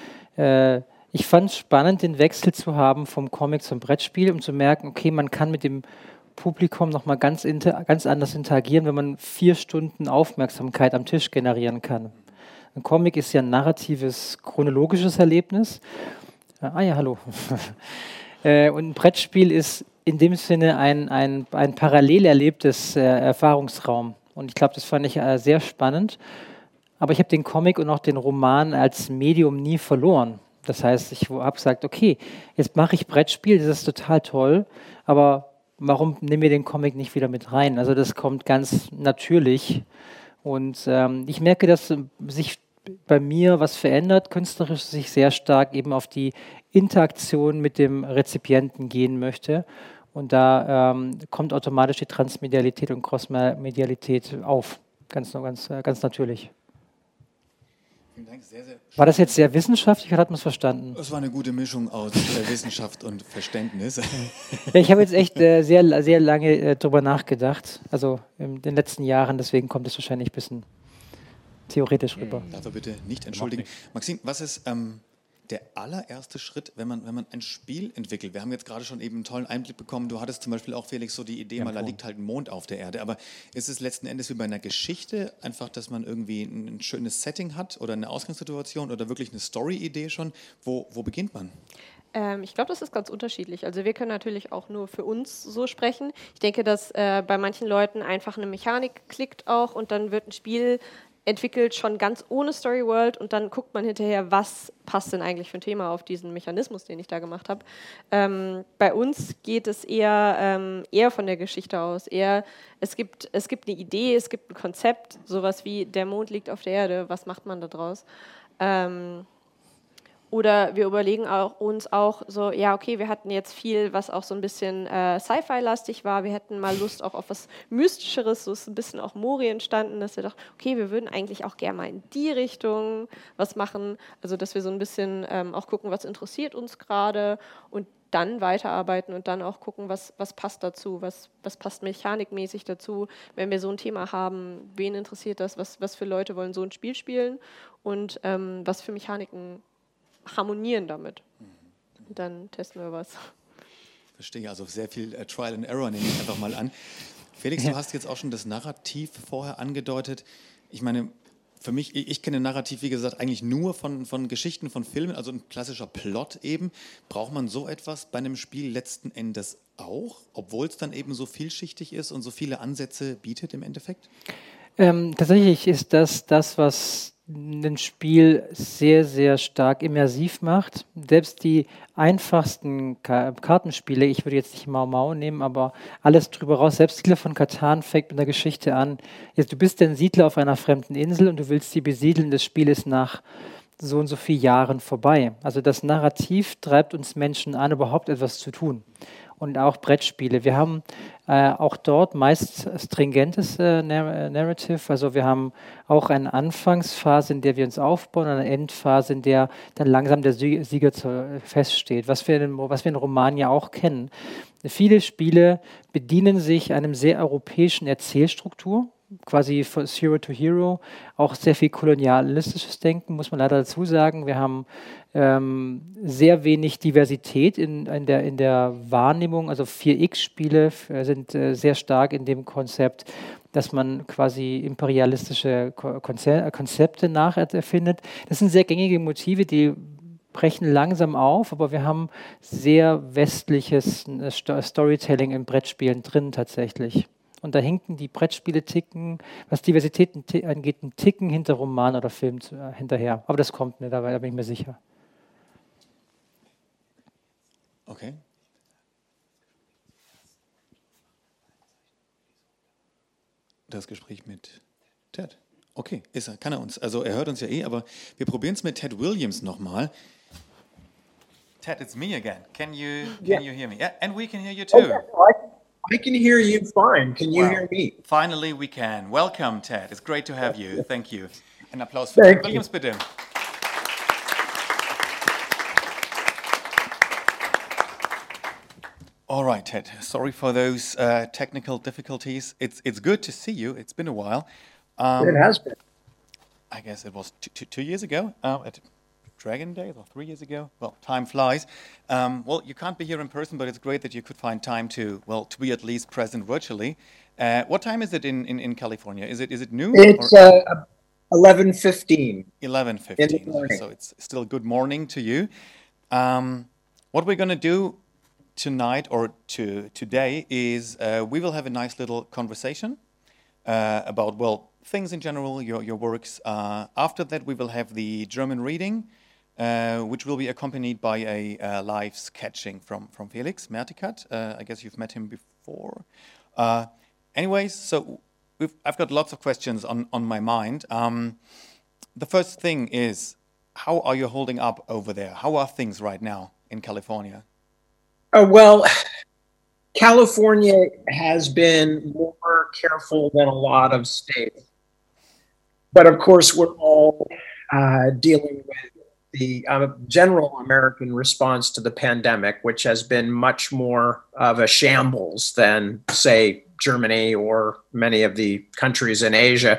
fand es spannend, den Wechsel zu haben vom Comic zum Brettspiel, um zu merken, okay, man kann mit dem Publikum nochmal ganz anders interagieren, wenn man 4 Stunden Aufmerksamkeit am Tisch generieren kann. Ein Comic ist ja ein narratives, chronologisches Erlebnis. Ja, hallo. Und ein Brettspiel ist in dem Sinne ein parallel erlebtes Erfahrungsraum. Und ich glaube, das fand ich sehr spannend. Aber ich habe den Comic und auch den Roman als Medium nie verloren. Das heißt, ich habe gesagt, okay, jetzt mache ich Brettspiel, das ist total toll, aber warum nehmen wir den Comic nicht wieder mit rein? Also das kommt ganz natürlich. Und ich merke, dass sich bei mir was verändert, künstlerisch sich sehr stark eben auf die Interaktion mit dem Rezipienten gehen möchte. Und da kommt automatisch die Transmedialität und Crossmedialität auf, ganz natürlich. Vielen Dank, sehr, sehr War das jetzt sehr wissenschaftlich oder hat man es verstanden? Es war eine gute Mischung aus Wissenschaft und Verständnis. Ja, ich habe jetzt echt sehr lange drüber nachgedacht, also in den letzten Jahren, deswegen kommt es wahrscheinlich ein bisschen theoretisch rüber. Darf er bitte nicht entschuldigen. Maxim, was ist der allererste Schritt, wenn man ein Spiel entwickelt? Wir haben jetzt gerade schon eben einen tollen Einblick bekommen. Du hattest zum Beispiel auch, Felix, so die Idee, da liegt halt ein Mond auf der Erde. Aber ist es letzten Endes wie bei einer Geschichte einfach, dass man irgendwie ein schönes Setting hat oder eine Ausgangssituation oder wirklich eine Story-Idee schon? Wo beginnt man? Ich glaube, das ist ganz unterschiedlich. Also wir können natürlich auch nur für uns so sprechen. Ich denke, dass bei manchen Leuten einfach eine Mechanik klickt auch und dann wird ein Spiel entwickelt schon ganz ohne Story World und dann guckt man hinterher, was passt denn eigentlich für ein Thema auf diesen Mechanismus, den ich da gemacht habe. Bei uns geht es eher von der Geschichte aus. Es gibt eine Idee, es gibt ein Konzept, sowas wie der Mond liegt auf der Erde, was macht man da draus? Oder wir überlegen uns auch so, ja okay, wir hatten jetzt viel, was auch so ein bisschen Sci-Fi-lastig war. Wir hätten mal Lust auch auf was Mystischeres, so ist ein bisschen auch Mori entstanden, dass wir dachten, okay, wir würden eigentlich auch gerne mal in die Richtung was machen. Also dass wir so ein bisschen auch gucken, was interessiert uns gerade und dann weiterarbeiten und dann auch gucken, was passt dazu, was passt mechanikmäßig dazu. Wenn wir so ein Thema haben, wen interessiert das, was für Leute wollen so ein Spiel spielen und was für Mechaniken harmonieren damit. Und dann testen wir was. Verstehe, also sehr viel Trial and Error nehme ich einfach mal an. Felix, du hast jetzt auch schon das Narrativ vorher angedeutet. Ich meine, für mich, ich kenne Narrativ, wie gesagt, eigentlich nur von Geschichten, von Filmen, also ein klassischer Plot eben. Braucht man so etwas bei einem Spiel letzten Endes auch, obwohl es dann eben so vielschichtig ist und so viele Ansätze bietet im Endeffekt? Tatsächlich ist das, was ein Spiel sehr, sehr stark immersiv macht. Selbst die einfachsten Kartenspiele, ich würde jetzt nicht Mau Mau nehmen, aber alles drüber raus, selbst Siedler von Catan fängt mit einer Geschichte an. Jetzt, du bist ein Siedler auf einer fremden Insel und du willst sie besiedeln, das Spiel ist nach so und so vielen Jahren vorbei. Also das Narrativ treibt uns Menschen an, überhaupt etwas zu tun. Und auch Brettspiele. Wir haben auch dort meist stringentes Narrative. Also wir haben auch eine Anfangsphase, in der wir uns aufbauen, und eine Endphase, in der dann langsam der Sieger feststeht, was wir in Roman ja auch kennen. Viele Spiele bedienen sich einem sehr europäischen Erzählstruktur, quasi von Zero to Hero, auch sehr viel kolonialistisches Denken, muss man leider dazu sagen. Wir haben sehr wenig Diversität in der Wahrnehmung. Also 4X-Spiele sind sehr stark in dem Konzept, dass man quasi imperialistische Konzepte nacherfindet. Das sind sehr gängige Motive, die brechen langsam auf, aber wir haben sehr westliches Storytelling in Brettspielen drin tatsächlich. Und da hinken die Brettspiele was Diversität angeht, einen Ticken hinter Roman oder Film hinterher. Aber das kommt, ne, da bin ich mir sicher. Okay. Das Gespräch mit Ted. Okay, kann er uns. Also er hört uns ja aber wir probieren es mit Ted Williams nochmal. Ted, it's me again. Can you hear me? Yeah, and we can hear you too. I can hear you fine. Can you hear me? Finally we can. Welcome, Ted. It's great to have you. Thank you. Ein Applaus für Ted Williams, bitte. All right, Ted. Sorry for those technical difficulties. It's good to see you. It's been a while. It has been. I guess it was 2 years ago at Dragon Days, or 3 years ago. Well, time flies. Well, you can't be here in person, but it's great that you could find time to be at least present virtually. What time is it in California? Is it noon? It's 11:15. 11:15. So it's still good morning to you. What we're going to do tonight or today is we will have a nice little conversation about, well, things in general, your works. After that, we will have the German reading, which will be accompanied by a live sketching from Felix Mertikat. I guess you've met him before. Anyways, so I've got lots of questions on my mind. The first thing is, how are you holding up over there? How are things right now in California? Well, California has been more careful than a lot of states. But of course, we're all dealing with the general American response to the pandemic, which has been much more of a shambles than, say, Germany or many of the countries in Asia.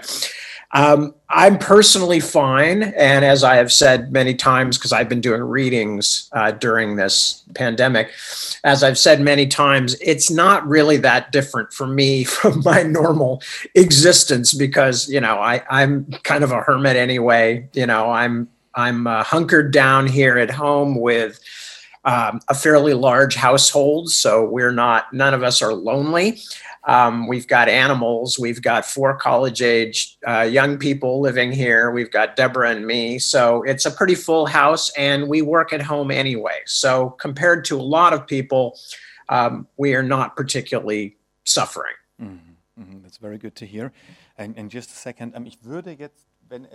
I'm personally fine. And as I have said many times, because I've been doing readings during this pandemic, as I've said many times, it's not really that different for me from my normal existence because, I'm kind of a hermit anyway. I'm hunkered down here at home with a fairly large household. So none of us are lonely. We've got animals. We've got 4 college-age young people living here. We've got Deborah and me. So it's a pretty full house, and we work at home anyway. So compared to a lot of people, we are not particularly suffering. Mm-hmm. Mm-hmm. That's very good to hear. And just a second, ich würde jetzt,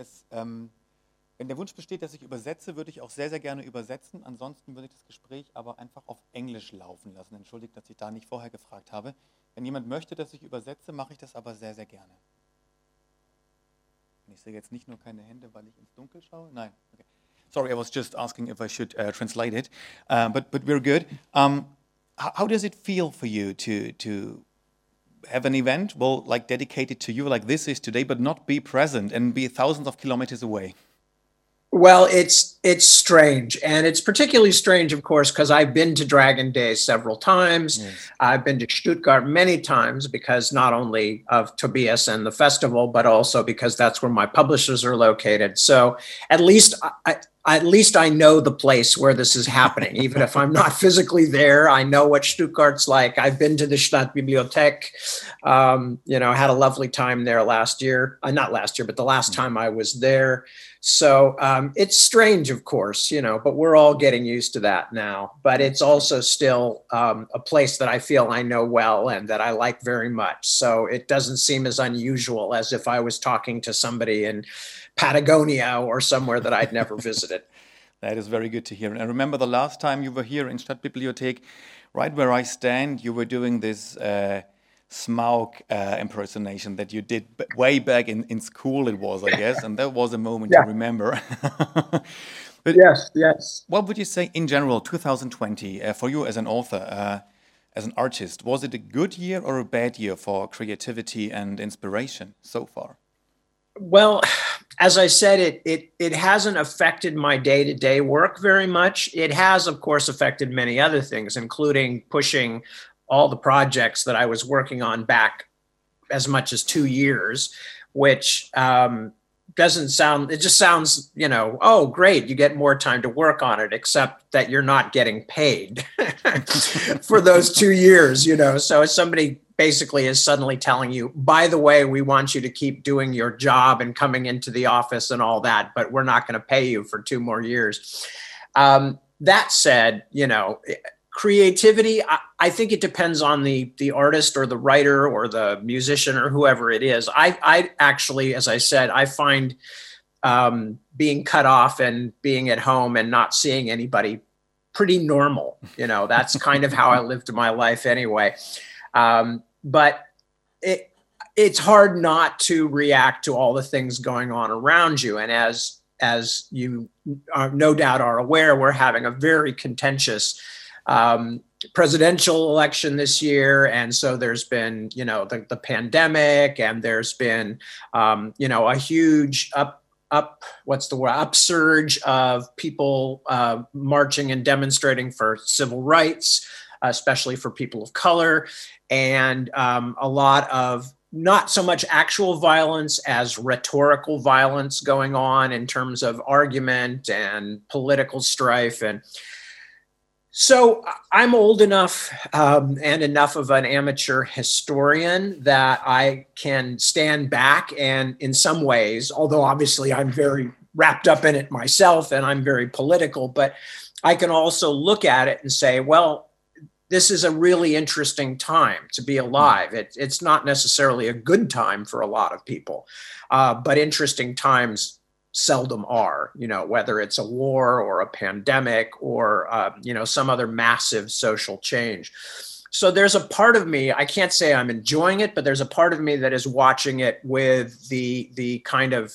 wenn der Wunsch besteht, dass ich übersetze, würde ich auch sehr, sehr gerne übersetzen. Ansonsten würde ich das Gespräch aber einfach auf Englisch laufen lassen. Entschuldigt, dass ich da nicht vorher gefragt habe. Wenn jemand möchte, dass ich übersetze, mache ich das aber sehr, sehr gerne. Und ich sehe jetzt nicht nur keine Hände, weil ich ins Dunkel schaue. Nein. Okay. Sorry, I was just asking if I should translate it. But we're good. How does it feel for you to have an event, well, like dedicated to you, like this is today, but not be present and be thousands of kilometers away? Well, it's strange, and it's particularly strange, of course, because I've been to Dragon Days several times. Yes. I've been to Stuttgart many times because not only of Tobias and the festival, but also because that's where my publishers are located. So at least I know the place where this is happening, even if I'm not physically there. I know what Stuttgart's like. I've been to the Stadtbibliothek. Had a lovely time there last year. Not last year, but the last time I was there. So it's strange, of course, but we're all getting used to that now. But it's also still a place that I feel I know well and that I like very much. So it doesn't seem as unusual as if I was talking to somebody in Patagonia or somewhere that I'd never visited. That is very good to hear. And I remember the last time you were here in Stadtbibliothek, right where I stand, you were doing this Smaug impersonation that you did way back in school, it was, I guess, and that was a moment to remember. But yes. what would you say in general, 2020, for you as an author, as an artist? Was it a good year or a bad year for creativity and inspiration so far? Well, as I said, it hasn't affected my day-to-day work very much. It has, of course, affected many other things, including pushing all the projects that I was working on back as much as 2 years, which doesn't sound, it just sounds, oh, great, you get more time to work on it, except that you're not getting paid for those 2 years, So if somebody basically is suddenly telling you, by the way, we want you to keep doing your job and coming into the office and all that, but we're not going to pay you for 2 more years. That said, creativity, I think it depends on the artist or the writer or the musician or whoever it is. I actually, as I said, I find being cut off and being at home and not seeing anybody pretty normal. That's kind of how I lived my life anyway. But it's hard not to react to all the things going on around you. And as you no doubt are aware, we're having a very contentious presidential election this year. And so there's been, the pandemic, and there's been, a huge upsurge of people marching and demonstrating for civil rights, especially for people of color, and a lot of not so much actual violence as rhetorical violence going on in terms of argument and political strife. And so I'm old enough and enough of an amateur historian that I can stand back and, in some ways, although obviously I'm very wrapped up in it myself and I'm very political, but I can also look at it and say, well, this is a really interesting time to be alive. It's not necessarily a good time for a lot of people, but interesting times seldom are, whether it's a war or a pandemic or, some other massive social change. So there's a part of me, I can't say I'm enjoying it, but there's a part of me that is watching it with the kind of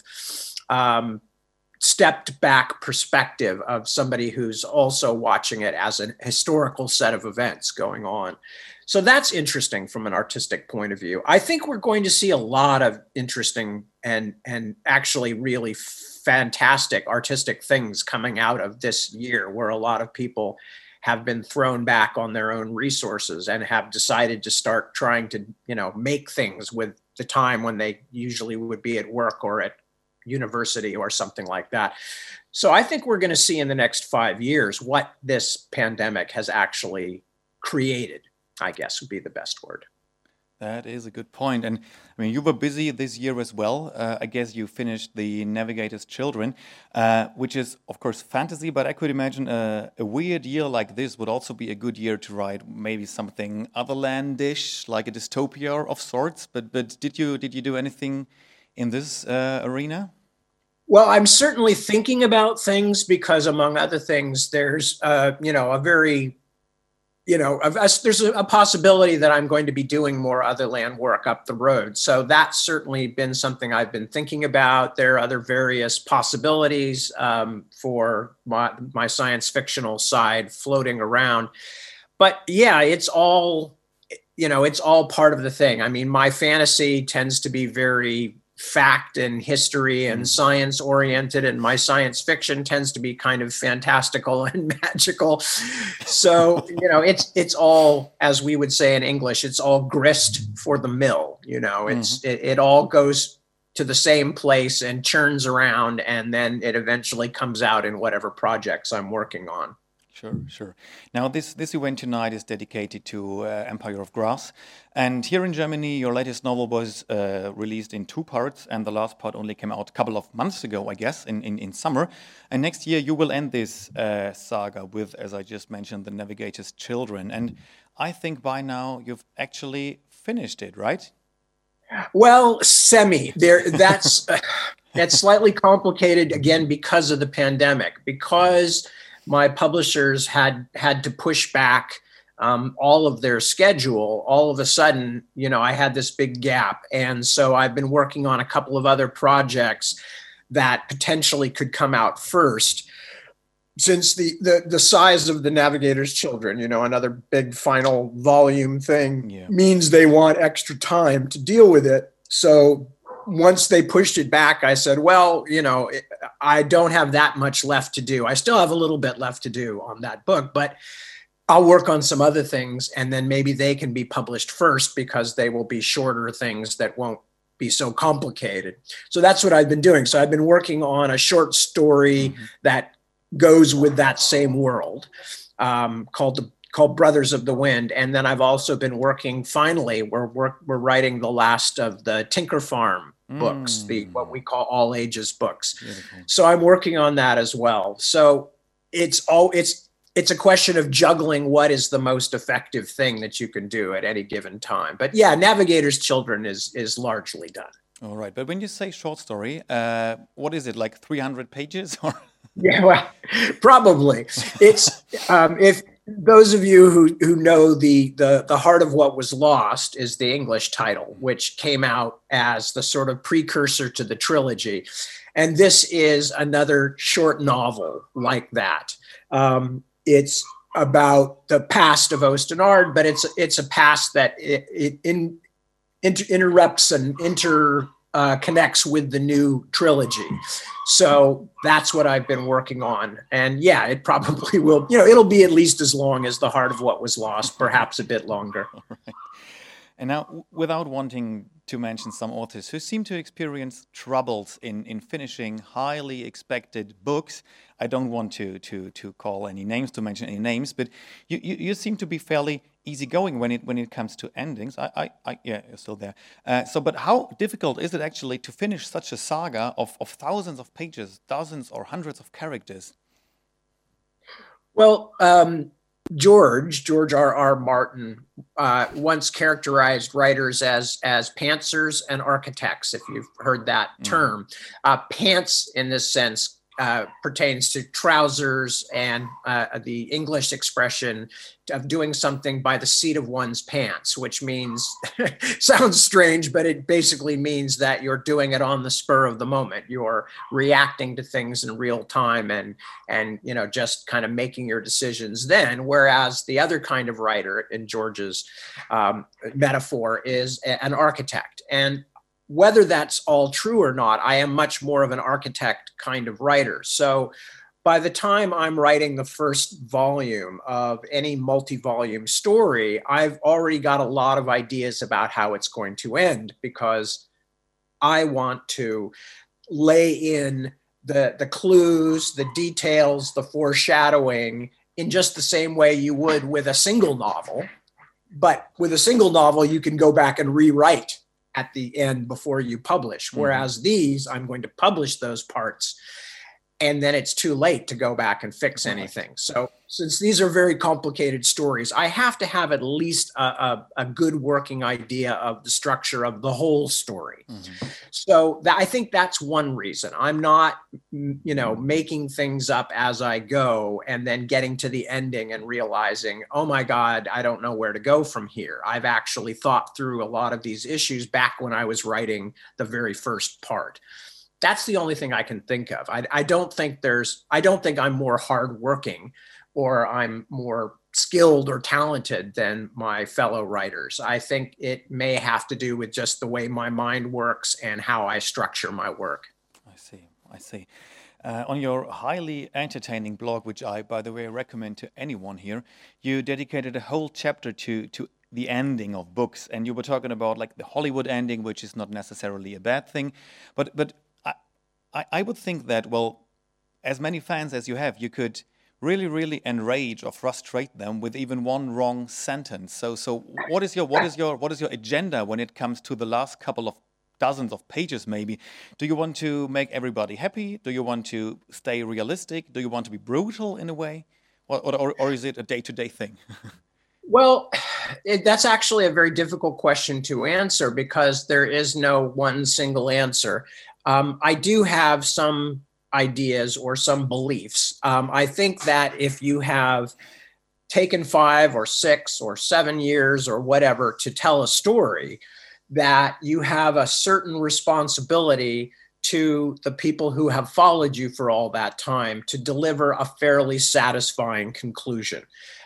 stepped back perspective of somebody who's also watching it as a historical set of events going on. So that's interesting from an artistic point of view. I think we're going to see a lot of interesting and actually really fantastic artistic things coming out of this year, where a lot of people have been thrown back on their own resources and have decided to start trying to, make things with the time when they usually would be at work or at university or something like that. So I think we're going to see in the next 5 years what this pandemic has actually created, I guess would be the best word. That is a good point. And I mean, you were busy this year as well. I guess you finished The Navigator's Children, which is, of course, fantasy, but I could imagine a weird year like this would also be a good year to write maybe something otherlandish, like a dystopia of sorts. But did you do anything in this arena? Well, I'm certainly thinking about things because, among other things, there's, there's a possibility that I'm going to be doing more otherland work up the road. So that's certainly been something I've been thinking about. There are other various possibilities for my science fictional side floating around. But yeah, it's all part of the thing. I mean, my fantasy tends to be very fact and history and science oriented, and my science fiction tends to be kind of fantastical and magical. So, it's all, as we would say in English, it's all grist for the mill. It all goes to the same place and churns around, and then it eventually comes out in whatever projects I'm working on. Sure. Now, this event tonight is dedicated to Empire of Grass. And here in Germany, your latest novel was released in 2 parts, and the last part only came out a couple of months ago, I guess, in summer. And next year, you will end this saga with, as I just mentioned, The Navigator's Children. And I think by now you've actually finished it, right? Well, that's slightly complicated, again, because of the pandemic, because my publishers had to push back all of their schedule. All of a sudden, I had this big gap. And so I've been working on a couple of other projects that potentially could come out first. Since the size of The Navigator's Children, another big final volume thing, means they want extra time to deal with it. So once they pushed it back, I said, well, I don't have that much left to do. I still have a little bit left to do on that book, but I'll work on some other things, and then maybe they can be published first because they will be shorter things that won't be so complicated. So that's what I've been doing. So I've been working on a short story that goes with that same world, called Brothers of the Wind. And then I've also been working, finally, we're writing the last of the Tinker Farm books, what we call all ages books. Beautiful. So I'm working on that as well. So it's a question of juggling what is the most effective thing that you can do at any given time. But yeah, Navigator's Children is largely done. All right. But when you say short story, what is it, like 300 pages? Or Yeah, well, probably. It's if those of you who know the Heart of What Was Lost is the English title, which came out as the sort of precursor to the trilogy. And this is another short novel like that. It's about the past of Ostenard, but it's a past that interrupts and connects with the new trilogy. So that's what I've been working on. And yeah, it probably will, it'll be at least as long as The Heart of What Was Lost, perhaps a bit longer. All right. And now, without wanting to mention some authors who seem to experience troubles in finishing highly expected books, I don't want to call any names, to mention any names, but you seem to be fairly easygoing when it comes to endings. Yeah, you're still there. But how difficult is it actually to finish such a saga of thousands of pages, dozens or hundreds of characters? Well, George R.R. Martin once characterized writers as pantsers and architects, if you've heard that term. Pants, in this sense, pertains to trousers, and the English expression of doing something by the seat of one's pants, which means, sounds strange, but it basically means that you're doing it on the spur of the moment. You're reacting to things in real time and just kind of making your decisions then. Whereas the other kind of writer, in George's metaphor, is an architect. And whether that's all true or not, I am much more of an architect kind of writer. So by the time I'm writing the first volume of any multi-volume story, I've already got a lot of ideas about how it's going to end, because I want to lay in the clues, the details, the foreshadowing in just the same way you would with a single novel. But with a single novel, you can go back and rewrite at the end before you publish. Whereas these, I'm going to publish those parts, and then it's too late to go back and fix anything. So since these are very complicated stories, I have to have at least a good working idea of the structure of the whole story. So I think that's one reason. I'm not, making things up as I go and then getting to the ending and realizing, oh my God, I don't know where to go from here. I've actually thought through a lot of these issues back when I was writing the very first part. That's the only thing I can think of. I don't think I'm more hardworking or I'm more skilled or talented than my fellow writers. I think it may have to do with just the way my mind works and how I structure my work. I see. I see. On your highly entertaining blog, which I, by the way, recommend to anyone here, you dedicated a whole chapter to the ending of books, and you were talking about like the Hollywood ending, which is not necessarily a bad thing, but I would think that, well, as many fans as you have, you could really enrage or frustrate them with even one wrong sentence. So what is your agenda when it comes to the last couple of dozens of pages maybe? Do you want to make everybody happy? Do you want to stay realistic? Do you want to be brutal in a way? Or is it a day-to-day thing? Well, that's actually a very difficult question to answer because there is no one single answer. I do have some ideas or some beliefs. I think that if you have taken 5 or 6 or 7 years or whatever to tell a story, that you have a certain responsibility to the people who have followed you for all that time to deliver a fairly satisfying conclusion.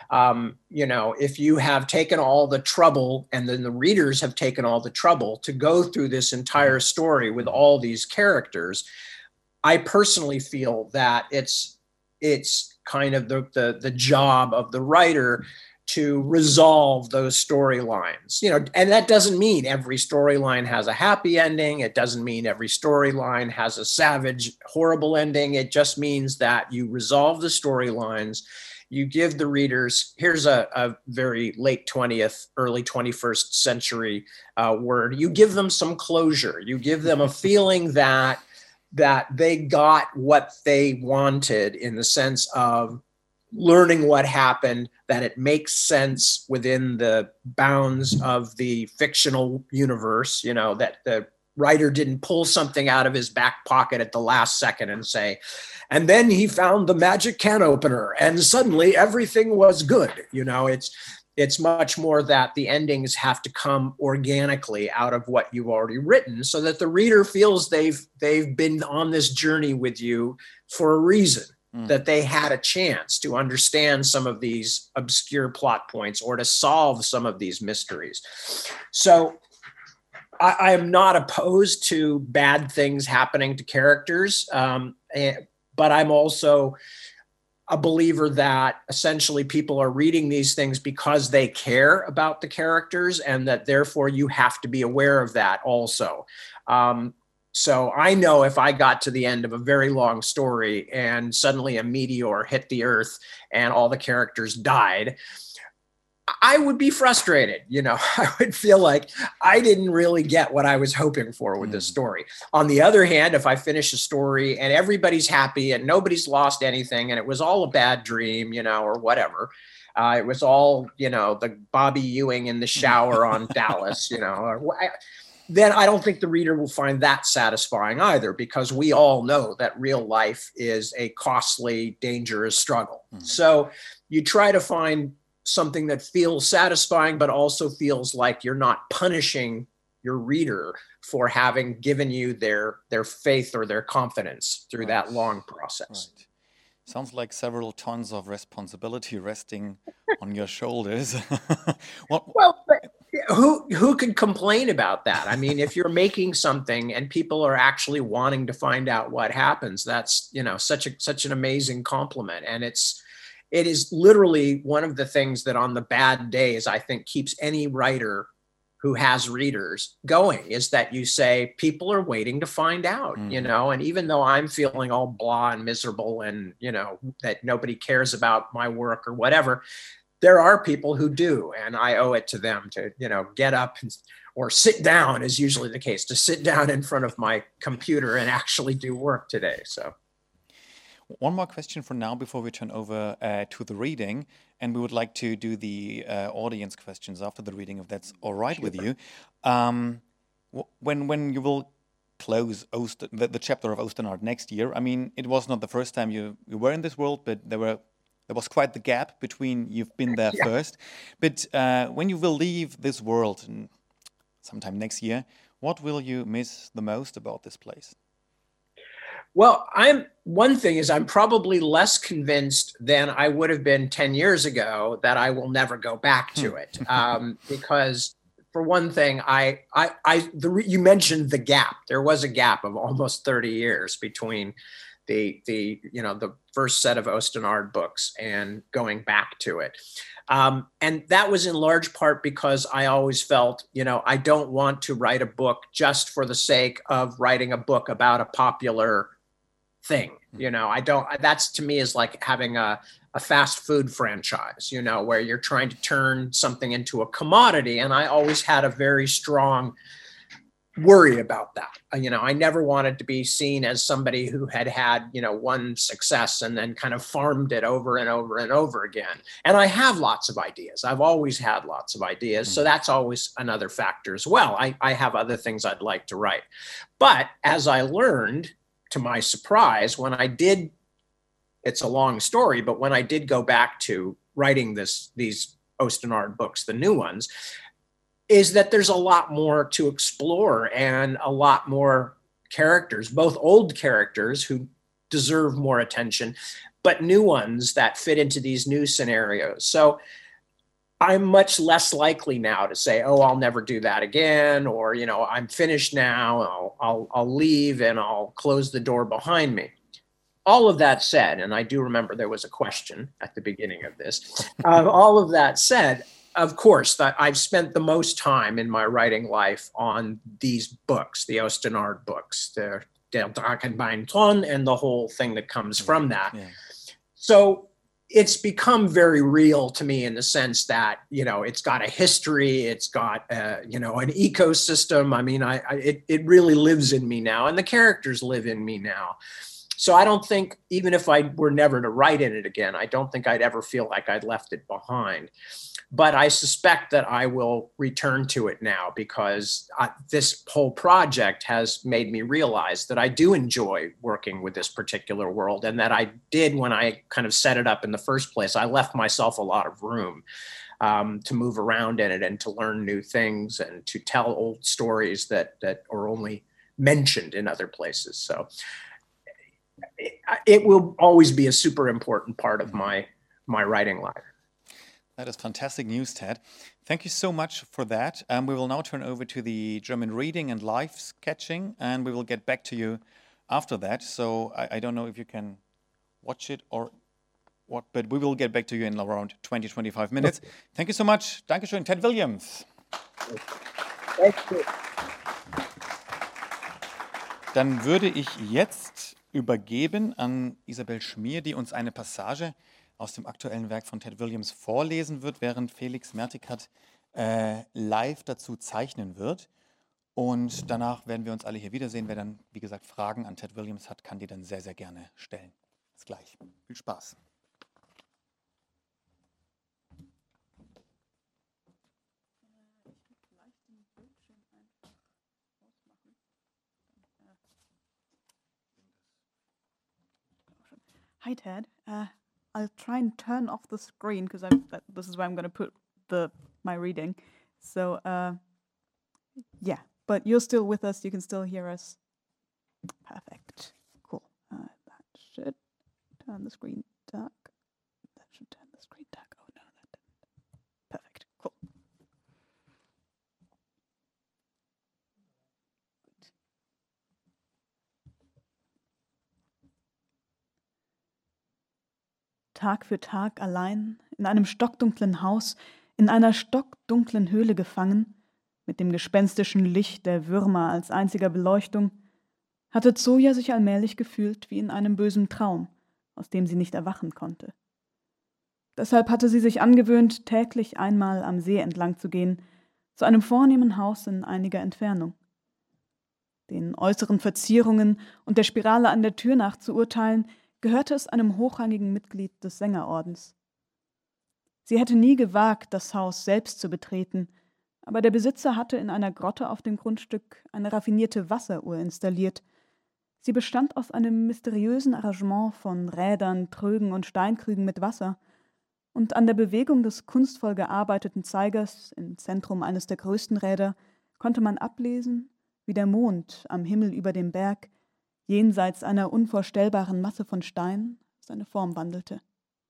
If you have taken all the trouble and then the readers have taken all the trouble to go through this entire story with all these characters, I personally feel that it's kind of the job of the writer to resolve those storylines, and that doesn't mean every storyline has a happy ending. It doesn't mean every storyline has a savage, horrible ending. It just means that you resolve the storylines. You give the readers, here's a very late 20th, early 21st century word. You give them some closure. You give them a feeling that they got what they wanted in the sense of learning what happened, that it makes sense within the bounds of the fictional universe, that the writer didn't pull something out of his back pocket at the last second and say, and then he found the magic can opener and suddenly everything was good. It's much more that the endings have to come organically out of what you've already written so that the reader feels they've been on this journey with you for a reason, that they had a chance to understand some of these obscure plot points or to solve some of these mysteries. So I am not opposed to bad things happening to characters, but I'm also a believer that essentially people are reading these things because they care about the characters and that therefore you have to be aware of that also. So I know if I got to the end of a very long story and suddenly a meteor hit the earth and all the characters died, I would be frustrated. I would feel like I didn't really get what I was hoping for with this story. On the other hand, if I finish a story and everybody's happy and nobody's lost anything and it was all a bad dream, or whatever, it was all, the Bobby Ewing in the shower on Dallas, then I don't think the reader will find that satisfying either, because we all know that real life is a costly, dangerous struggle. So you try to find something that feels satisfying, but also feels like you're not punishing your reader for having given you their faith or their confidence through that long process. Right. Sounds like several tons of responsibility resting on your shoulders. Well, but who could complain about that? I mean, if you're making something and people are actually wanting to find out what happens, that's such an amazing compliment, and it is literally one of the things that on the bad days, I think keeps any writer who has readers going, is that you say, people are waiting to find out, and even though I'm feeling all blah and miserable and, that nobody cares about my work or whatever, there are people who do, and I owe it to them to, get up or sit down is usually the case, to sit down in front of my computer and actually do work today. So. One more question for now before we turn over to the reading, and we would like to do the audience questions after the reading, if that's all right with you. When you will close the chapter of Osternaut next year, I mean, it was not the first time you were in this world, but there was quite the gap between you've been there first. But when you will leave this world sometime next year, what will you miss the most about this place? Well, one thing is I'm probably less convinced than I would have been 10 years ago that I will never go back to it. Because for one thing, you mentioned the gap. There was a gap of almost 30 years between the first set of Ostenard books and going back to it. And that was in large part because I always felt, I don't want to write a book just for the sake of writing a book about a popular thing. That's to me is like having a fast food franchise, where you're trying to turn something into a commodity. And I always had a very strong worry about that. I never wanted to be seen as somebody who had one success and then kind of farmed it over and over and over again. And I have lots of ideas. I've always had lots of ideas. So that's always another factor as well. I have other things I'd like to write. But as I learned, to my surprise, when I did, it's a long story, but when I did go back to writing these Ostenard books, the new ones, is that there's a lot more to explore and a lot more characters, both old characters who deserve more attention, but new ones that fit into these new scenarios. So I'm much less likely now to say, oh, I'll never do that again, or, I'm finished now, I'll leave and I'll close the door behind me. All of that said, and I do remember there was a question at the beginning of this, all of that said, of course, that I've spent the most time in my writing life on these books, the Ostenard books, the Der Drachenbeinthron, and the whole thing that comes from that. Yeah. So it's become very real to me in the sense that, it's got a history, it's got, an ecosystem. I mean, it really lives in me now, and the characters live in me now. So I don't think, even if I were never to write in it again, I don't think I'd ever feel like I'd left it behind. But I suspect that I will return to it now because this whole project has made me realize that I do enjoy working with this particular world, and that I did when I kind of set it up in the first place. I left myself a lot of room to move around in it and to learn new things and to tell old stories that are only mentioned in other places. So it will always be a super important part of my writing life. That is fantastic news, Ted. Thank you so much for that. We will now turn over to the German reading and live sketching, and we will get back to you after that. So I don't know if you can watch it or what, but we will get back to you in around 20-25 minutes. Thank you so much. Dankeschön, Ted Williams. Thank you. Dann würde ich jetzt übergeben an Isabel Schmier, die uns eine Passage aus dem aktuellen Werk von Ted Williams vorlesen wird, während Felix Mertikat live dazu zeichnen wird. Und danach werden wir uns alle hier wiedersehen. Wer dann, wie gesagt, Fragen an Ted Williams hat, kann die dann sehr, sehr gerne stellen. Bis gleich. Viel Spaß. Hi, Ted. I'll try and turn off the screen because this is where I'm going to put my reading. So, yeah, but you're still with us. You can still hear us. Perfect. Cool. That should turn the screen dark. That should turn the screen dark. Oh, no, that didn't. Perfect. Cool. Tag für Tag allein, in einem stockdunklen Haus, in einer stockdunklen Höhle gefangen, mit dem gespenstischen Licht der Würmer als einziger Beleuchtung, hatte Zoja sich allmählich gefühlt wie in einem bösen Traum, aus dem sie nicht erwachen konnte. Deshalb hatte sie sich angewöhnt, täglich einmal am See entlang zu gehen, zu einem vornehmen Haus in einiger Entfernung. Den äußeren Verzierungen und der Spirale an der Tür nach zu urteilen, gehörte es einem hochrangigen Mitglied des Sängerordens. Sie hätte nie gewagt, das Haus selbst zu betreten, aber der Besitzer hatte in einer Grotte auf dem Grundstück eine raffinierte Wasseruhr installiert. Sie bestand aus einem mysteriösen Arrangement von Rädern, Trögen und Steinkrügen mit Wasser, und an der Bewegung des kunstvoll gearbeiteten Zeigers im Zentrum eines der größten Räder konnte man ablesen, wie der Mond am Himmel über dem Berg jenseits einer unvorstellbaren Masse von Stein, seine Form wandelte.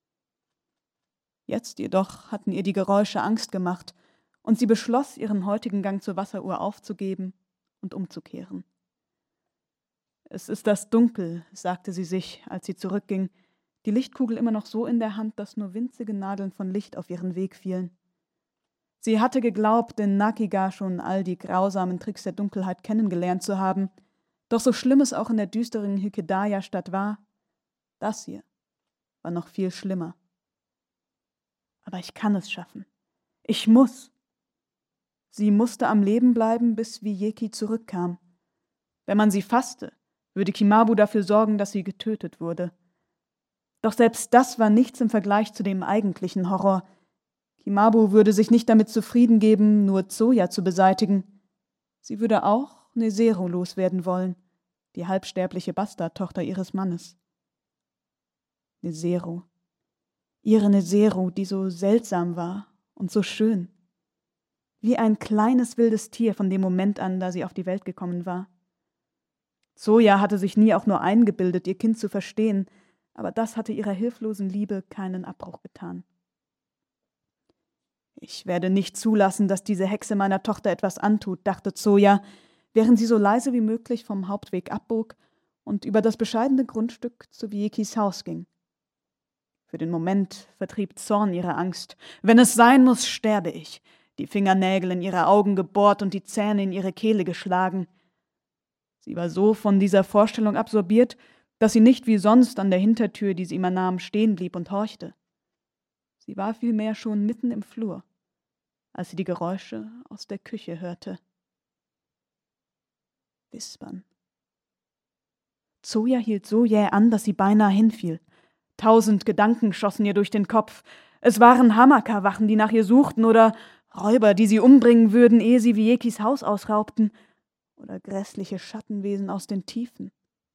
Jetzt jedoch hatten ihr die Geräusche Angst gemacht, und sie beschloss, ihren heutigen Gang zur Wasseruhr aufzugeben und umzukehren. »Es ist das Dunkel«, sagte sie sich, als sie zurückging, die Lichtkugel immer noch so in der Hand, dass nur winzige Nadeln von Licht auf ihren Weg fielen. Sie hatte geglaubt, in Nakiga schon all die grausamen Tricks der Dunkelheit kennengelernt zu haben, doch so schlimm es auch in der düsteren Hykedaya-Stadt war, das hier war noch viel schlimmer. Aber ich kann es schaffen. Ich muss. Sie musste am Leben bleiben, bis Wieki zurückkam. Wenn man sie fasste, würde Kimabu dafür sorgen, dass sie getötet wurde. Doch selbst das war nichts im Vergleich zu dem eigentlichen Horror. Kimabu würde sich nicht damit zufrieden geben, nur Zoya zu beseitigen. Sie würde auch Nezero loswerden wollen, die halbsterbliche Bastardtochter ihres Mannes. Nezero. Ihre Nezero, die so seltsam war und so schön. Wie ein kleines wildes Tier von dem Moment an, da sie auf die Welt gekommen war. Zoya hatte sich nie auch nur eingebildet, ihr Kind zu verstehen, aber das hatte ihrer hilflosen Liebe keinen Abbruch getan. »Ich werde nicht zulassen, dass diese Hexe meiner Tochter etwas antut«, dachte Zoya, während sie so leise wie möglich vom Hauptweg abbog und über das bescheidene Grundstück zu Wiekis Haus ging. Für den Moment vertrieb Zorn ihre Angst. »Wenn es sein muss, sterbe ich«, die Fingernägel in ihre Augen gebohrt und die Zähne in ihre Kehle geschlagen. Sie war so von dieser Vorstellung absorbiert, dass sie nicht wie sonst an der Hintertür, die sie immer nahm, stehen blieb und horchte. Sie war vielmehr schon mitten im Flur, als sie die Geräusche aus der Küche hörte. Wispern. Zoya hielt so jäh an, dass sie beinahe hinfiel. 1000 Gedanken schossen ihr durch den Kopf. Es waren Hamaka-Wachen, die nach ihr suchten, oder Räuber, die sie umbringen würden, ehe sie Wiekis Haus ausraubten, oder grässliche Schattenwesen aus den Tiefen.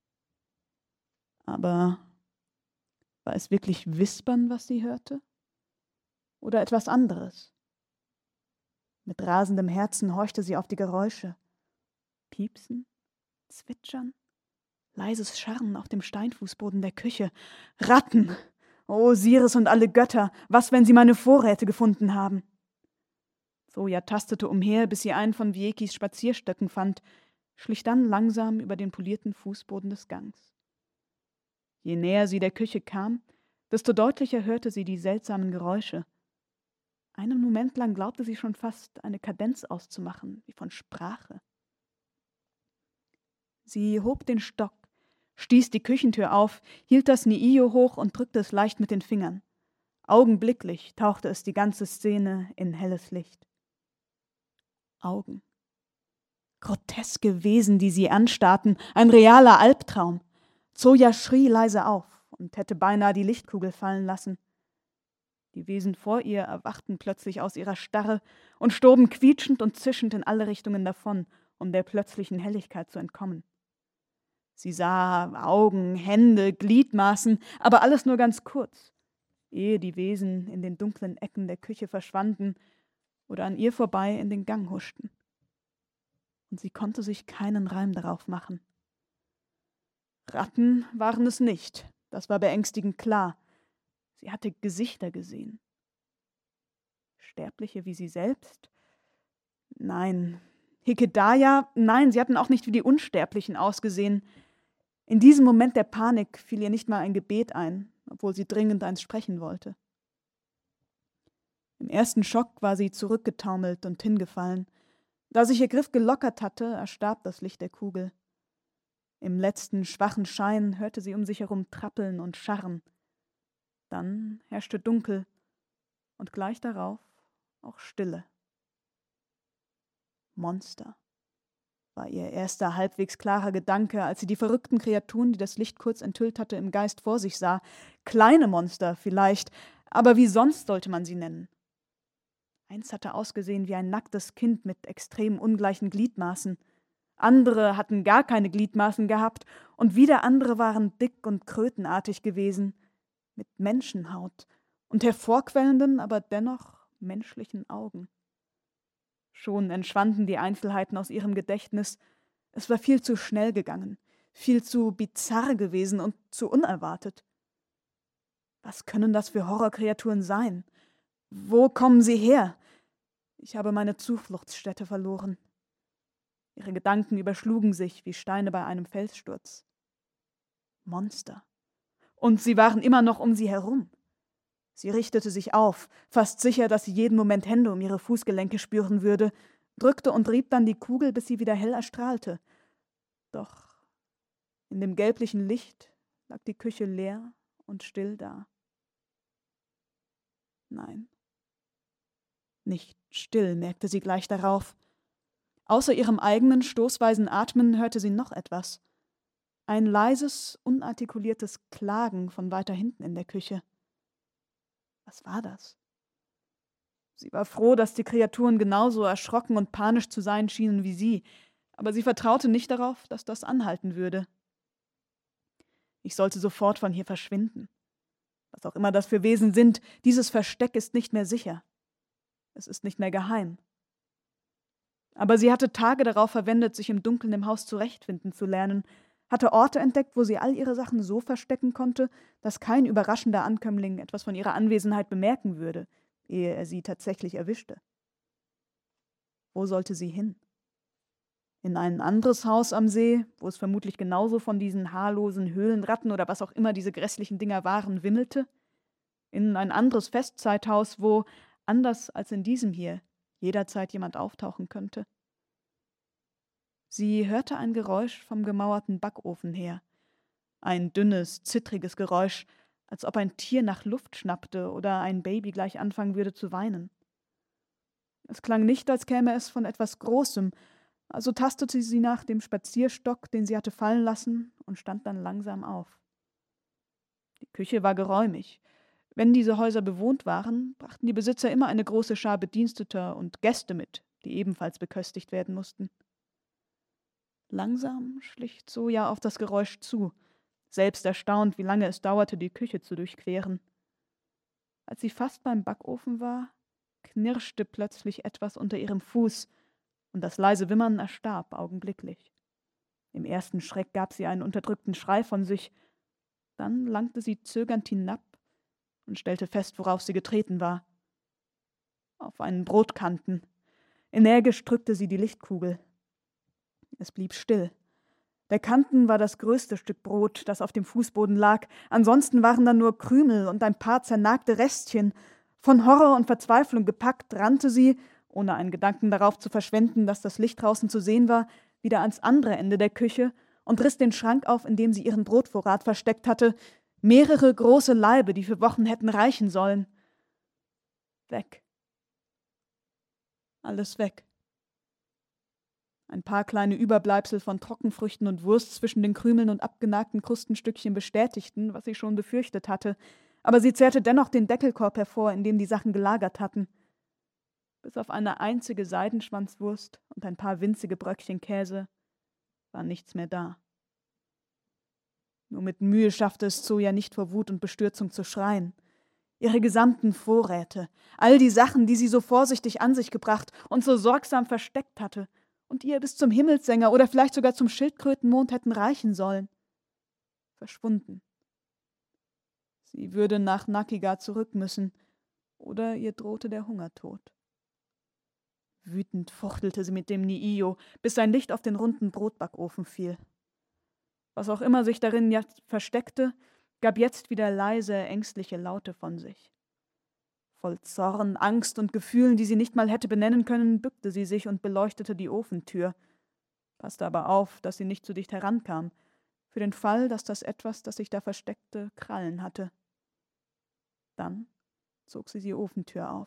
Aber war es wirklich Wispern, was sie hörte? Oder etwas anderes? Mit rasendem Herzen horchte sie auf die Geräusche. Piepsen, Zwitschern, leises Scharren auf dem Steinfußboden der Küche. Ratten! O Osiris und alle Götter, was, wenn sie meine Vorräte gefunden haben? Zoya tastete umher, bis sie einen von Wiekis Spazierstöcken fand, schlich dann langsam über den polierten Fußboden des Gangs. Je näher sie der Küche kam, desto deutlicher hörte sie die seltsamen Geräusche. Einen Moment lang glaubte sie schon fast, eine Kadenz auszumachen, wie von Sprache. Sie hob den Stock, stieß die Küchentür auf, hielt das Niio hoch und drückte es leicht mit den Fingern. Augenblicklich tauchte es die ganze Szene in helles Licht. Augen. Groteske Wesen, die sie anstarrten, ein realer Albtraum. Zoya schrie leise auf und hätte beinahe die Lichtkugel fallen lassen. Die Wesen vor ihr erwachten plötzlich aus ihrer Starre und stoben quietschend und zischend in alle Richtungen davon, um der plötzlichen Helligkeit zu entkommen. Sie sah Augen, Hände, Gliedmaßen, aber alles nur ganz kurz, ehe die Wesen in den dunklen Ecken der Küche verschwanden oder an ihr vorbei in den Gang huschten. Und sie konnte sich keinen Reim darauf machen. Ratten waren es nicht, das war beängstigend klar. Sie hatte Gesichter gesehen. Sterbliche wie sie selbst? Nein. Hykedaya? Nein, sie hatten auch nicht wie die Unsterblichen ausgesehen. In diesem Moment der Panik fiel ihr nicht mal ein Gebet ein, obwohl sie dringend eins sprechen wollte. Im ersten Schock war sie zurückgetaumelt und hingefallen. Da sich ihr Griff gelockert hatte, erstarb das Licht der Kugel. Im letzten schwachen Schein hörte sie um sich herum trappeln und scharren. Dann herrschte Dunkel und gleich darauf auch Stille. Monster war ihr erster halbwegs klarer Gedanke, als sie die verrückten Kreaturen, die das Licht kurz enthüllt hatte, im Geist vor sich sah. Kleine Monster vielleicht, aber wie sonst sollte man sie nennen? Eins hatte ausgesehen wie ein nacktes Kind mit extrem ungleichen Gliedmaßen. Andere hatten gar keine Gliedmaßen gehabt und wieder andere waren dick und krötenartig gewesen, mit Menschenhaut und hervorquellenden, aber dennoch menschlichen Augen. Schon entschwanden die Einzelheiten aus ihrem Gedächtnis. Es war viel zu schnell gegangen. viel zu bizarr gewesen und zu unerwartet. Was können das für Horrorkreaturen sein? Wo kommen sie her? Ich habe meine Zufluchtsstätte verloren. Ihre Gedanken überschlugen sich wie Steine bei einem Felssturz. Monster. Und sie waren immer noch um sie herum. Sie richtete sich auf, fast sicher, dass sie jeden Moment Hände um ihre Fußgelenke spüren würde, drückte und rieb dann die Kugel, bis sie wieder hell erstrahlte. Doch in dem gelblichen Licht lag die Küche leer und still da. Nein, nicht still, merkte sie gleich darauf. Außer ihrem eigenen stoßweisen Atmen hörte sie noch etwas. Ein leises, unartikuliertes Klagen von weiter hinten in der Küche. Was war das? Sie war froh, dass die Kreaturen genauso erschrocken und panisch zu sein schienen wie sie, aber sie vertraute nicht darauf, dass das anhalten würde. Ich sollte sofort von hier verschwinden. Was auch immer das für Wesen sind, dieses Versteck ist nicht mehr sicher. Es ist nicht mehr geheim. Aber sie hatte Tage darauf verwendet, sich im Dunkeln im Haus zurechtfinden zu lernen, hatte Orte entdeckt, wo sie all ihre Sachen so verstecken konnte, dass kein überraschender Ankömmling etwas von ihrer Anwesenheit bemerken würde, ehe er sie tatsächlich erwischte. Wo sollte sie hin? In ein anderes Haus am See, wo es vermutlich genauso von diesen haarlosen Höhlenratten oder was auch immer diese grässlichen Dinger waren, wimmelte? In ein anderes Festzeithaus, wo, anders als in diesem hier, jederzeit jemand auftauchen könnte? Sie hörte ein Geräusch vom gemauerten Backofen her. Ein dünnes, zittriges Geräusch, als ob ein Tier nach Luft schnappte oder ein Baby gleich anfangen würde zu weinen. Es klang nicht, als käme es von etwas Großem, also tastete sie nach dem Spazierstock, den sie hatte fallen lassen, und stand dann langsam auf. Die Küche war geräumig. Wenn diese Häuser bewohnt waren, brachten die Besitzer immer eine große Schar Bediensteter und Gäste mit, die ebenfalls beköstigt werden mussten. Langsam schlich Zoja auf das Geräusch zu, selbst erstaunt, wie lange es dauerte, die Küche zu durchqueren. Als sie fast beim Backofen war, knirschte plötzlich etwas unter ihrem Fuß, und das leise Wimmern erstarb augenblicklich. Im ersten Schreck gab sie einen unterdrückten Schrei von sich, dann langte sie zögernd hinab und stellte fest, worauf sie getreten war. Auf einen Brotkanten. Energisch drückte sie die Lichtkugel. Es blieb still. Der Kanten war das größte Stück Brot, das auf dem Fußboden lag. Ansonsten waren da nur Krümel und ein paar zernagte Restchen. Von Horror und Verzweiflung gepackt, rannte sie, ohne einen Gedanken darauf zu verschwenden, dass das Licht draußen zu sehen war, wieder ans andere Ende der Küche und riss den Schrank auf, in dem sie ihren Brotvorrat versteckt hatte. Mehrere große Laibe, die für Wochen hätten reichen sollen. Weg. Alles weg. Ein paar kleine Überbleibsel von Trockenfrüchten und Wurst zwischen den Krümeln und abgenagten Krustenstückchen bestätigten, was sie schon befürchtet hatte, aber sie zerrte dennoch den Deckelkorb hervor, in dem die Sachen gelagert hatten. Bis auf eine einzige Seidenschwanzwurst und ein paar winzige Bröckchen Käse war nichts mehr da. Nur mit Mühe schaffte es Zoja nicht, vor Wut und Bestürzung zu schreien. Ihre gesamten Vorräte, all die Sachen, die sie so vorsichtig an sich gebracht und so sorgsam versteckt hatte und ihr bis zum Himmelssänger oder vielleicht sogar zum Schildkrötenmond hätten reichen sollen, verschwunden. Sie würde nach Nakiga zurück müssen, oder ihr drohte der Hungertod. Wütend fuchtelte sie mit dem Niio, bis sein Licht auf den runden Brotbackofen fiel. Was auch immer sich darin jetzt versteckte, gab jetzt wieder leise, ängstliche Laute von sich. Voll Zorn, Angst und Gefühlen, die sie nicht mal hätte benennen können, bückte sie sich und beleuchtete die Ofentür, passte aber auf, dass sie nicht zu dicht herankam, für den Fall, dass das Etwas, das sich da versteckte, Krallen hatte. Dann zog sie die Ofentür auf.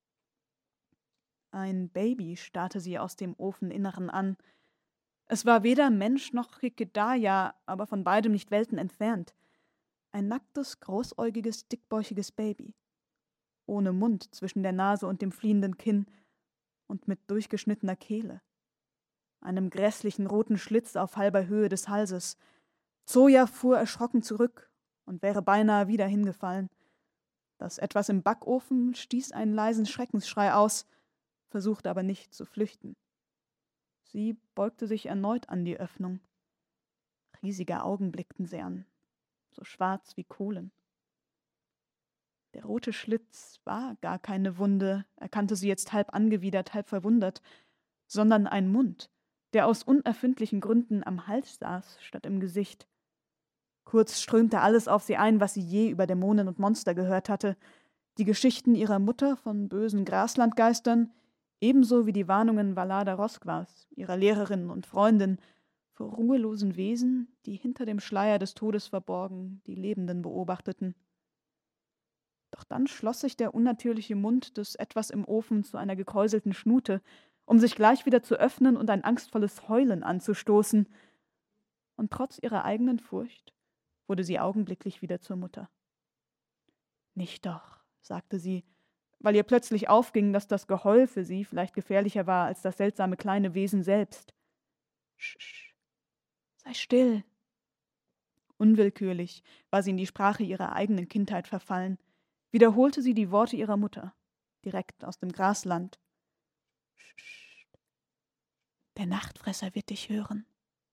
Ein Baby starrte sie aus dem Ofeninneren an. Es war weder Mensch noch Hikedaya, aber von beidem nicht Welten entfernt. Ein nacktes, großäugiges, dickbäuchiges Baby. Ohne Mund zwischen der Nase und dem fliehenden Kinn und mit durchgeschnittener Kehle. Einem grässlichen roten Schlitz auf halber Höhe des Halses. Zoja fuhr erschrocken zurück und wäre beinahe wieder hingefallen. Das Etwas im Backofen stieß einen leisen Schreckensschrei aus, versuchte aber nicht zu flüchten. Sie beugte sich erneut an die Öffnung. Riesige Augen blickten sie an, so schwarz wie Kohlen. Der rote Schlitz war gar keine Wunde, erkannte sie jetzt halb angewidert, halb verwundert, sondern ein Mund, der aus unerfindlichen Gründen am Hals saß, statt im Gesicht. Kurz strömte alles auf sie ein, was sie je über Dämonen und Monster gehört hatte, die Geschichten ihrer Mutter von bösen Graslandgeistern, ebenso wie die Warnungen Valada Rosquas, ihrer Lehrerin und Freundin, vor ruhelosen Wesen, die hinter dem Schleier des Todes verborgen die Lebenden beobachteten. Doch dann schloss sich der unnatürliche Mund des Etwas im Ofen zu einer gekräuselten Schnute, um sich gleich wieder zu öffnen und ein angstvolles Heulen anzustoßen. Und trotz ihrer eigenen Furcht wurde sie augenblicklich wieder zur Mutter. »Nicht doch«, sagte sie, weil ihr plötzlich aufging, dass das Geheul für sie vielleicht gefährlicher war als das seltsame kleine Wesen selbst. »Sch, sei still.« Unwillkürlich war sie in die Sprache ihrer eigenen Kindheit verfallen, wiederholte sie die Worte ihrer Mutter, direkt aus dem Grasland. »Sch, der Nachtfresser wird dich hören.«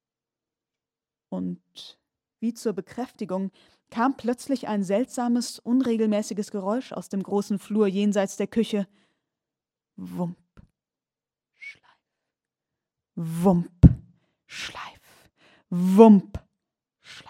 Und wie zur Bekräftigung kam plötzlich ein seltsames, unregelmäßiges Geräusch aus dem großen Flur jenseits der Küche. Wump, Schleif, Wump, Schleif, Wump, Schleif.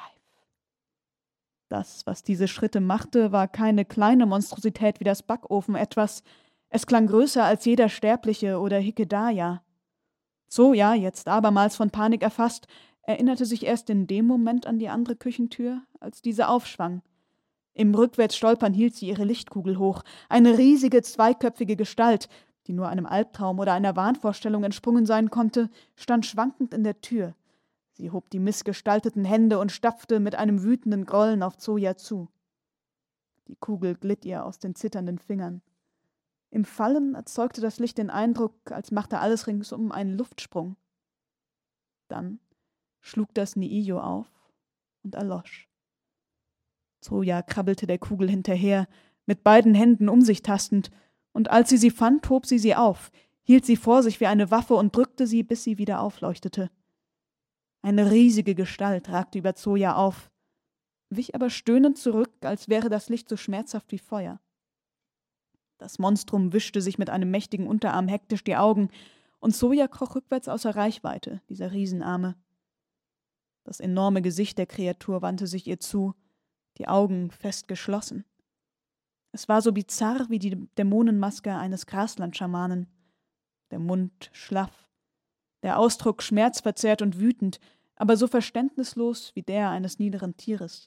Das, was diese Schritte machte, war keine kleine Monstrosität wie das Backofen etwas. Es klang größer als jeder Sterbliche oder Hikedaya. Zoja, jetzt abermals von Panik erfasst, erinnerte sich erst in dem Moment an die andere Küchentür, als diese aufschwang. Im Rückwärtsstolpern hielt sie ihre Lichtkugel hoch. Eine riesige, zweiköpfige Gestalt, die nur einem Albtraum oder einer Wahnvorstellung entsprungen sein konnte, stand schwankend in der Tür. Sie hob die missgestalteten Hände und stapfte mit einem wütenden Grollen auf Zoja zu. Die Kugel glitt ihr aus den zitternden Fingern. Im Fallen erzeugte das Licht den Eindruck, als machte alles ringsum einen Luftsprung. Dann schlug das Niiyo auf und erlosch. Zoja krabbelte der Kugel hinterher, mit beiden Händen um sich tastend, und als sie fand, hob sie auf, hielt sie vor sich wie eine Waffe und drückte sie, bis sie wieder aufleuchtete. Eine riesige Gestalt ragte über Zoja auf, wich aber stöhnend zurück, als wäre das Licht so schmerzhaft wie Feuer. Das Monstrum wischte sich mit einem mächtigen Unterarm hektisch die Augen, und Zoja kroch rückwärts außer Reichweite dieser Riesenarme. Das enorme Gesicht der Kreatur wandte sich ihr zu, die Augen fest geschlossen. Es war so bizarr wie die Dämonenmaske eines Graslandschamanen. Der Mund schlaff, der Ausdruck schmerzverzerrt und wütend, aber so verständnislos wie der eines niederen Tieres.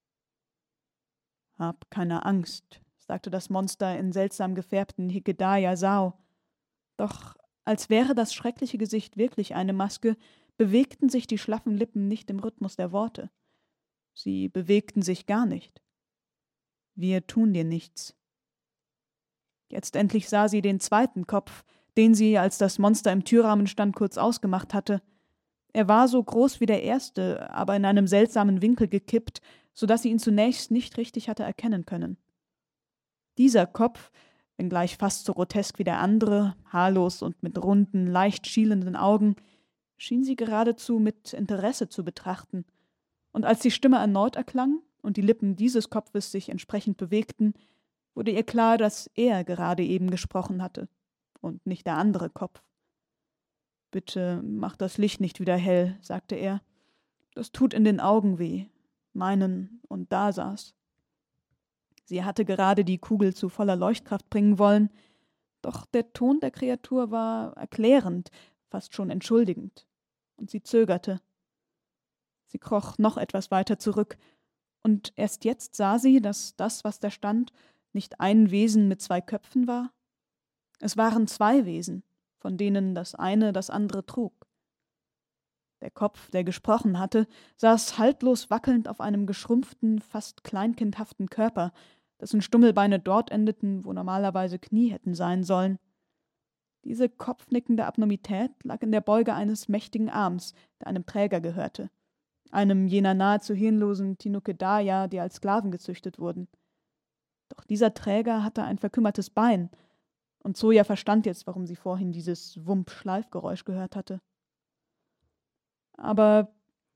»Hab keine Angst«, sagte das Monster in seltsam gefärbten Hikedaya-Sao. Doch als wäre das schreckliche Gesicht wirklich eine Maske, bewegten sich die schlaffen Lippen nicht im Rhythmus der Worte. Sie bewegten sich gar nicht. »Wir tun dir nichts.« Jetzt endlich sah sie den zweiten Kopf, den sie, als das Monster im Türrahmen stand, kurz ausgemacht hatte. Er war so groß wie der erste, aber in einem seltsamen Winkel gekippt, so dass sie ihn zunächst nicht richtig hatte erkennen können. Dieser Kopf, wenngleich fast so grotesk wie der andere, haarlos und mit runden, leicht schielenden Augen, schien sie geradezu mit Interesse zu betrachten, und als die Stimme erneut erklang und die Lippen dieses Kopfes sich entsprechend bewegten, wurde ihr klar, dass er gerade eben gesprochen hatte und nicht der andere Kopf. »Bitte mach das Licht nicht wieder hell«, sagte er. »Das tut in den Augen weh, meinen und Dasas.« Sie hatte gerade die Kugel zu voller Leuchtkraft bringen wollen, doch der Ton der Kreatur war erklärend, fast schon entschuldigend, und sie zögerte. Sie kroch noch etwas weiter zurück, und erst jetzt sah sie, dass das, was da stand, nicht ein Wesen mit 2 Köpfen war. Es waren 2 Wesen, von denen das eine das andere trug. Der Kopf, der gesprochen hatte, saß haltlos wackelnd auf einem geschrumpften, fast kleinkindhaften Körper, dessen Stummelbeine dort endeten, wo normalerweise Knie hätten sein sollen. Diese kopfnickende Abnormität lag in der Beuge eines mächtigen Arms, der einem Träger gehörte, einem jener nahezu hirnlosen Tinukedaya, die als Sklaven gezüchtet wurden. Doch dieser Träger hatte ein verkümmertes Bein, und Zoja verstand jetzt, warum sie vorhin dieses Wump-Schleifgeräusch gehört hatte. Aber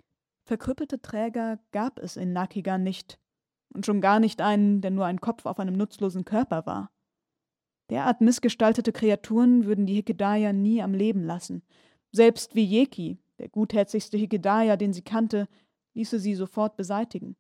Verkrüppelte Träger gab es in Nakigan nicht. Und schon gar nicht einen, der nur ein Kopf auf einem nutzlosen Körper war. Derart missgestaltete Kreaturen würden die Hikedaya nie am Leben lassen. Selbst Vieki, der gutherzigste Hikedaya, den sie kannte, ließe sie sofort beseitigen.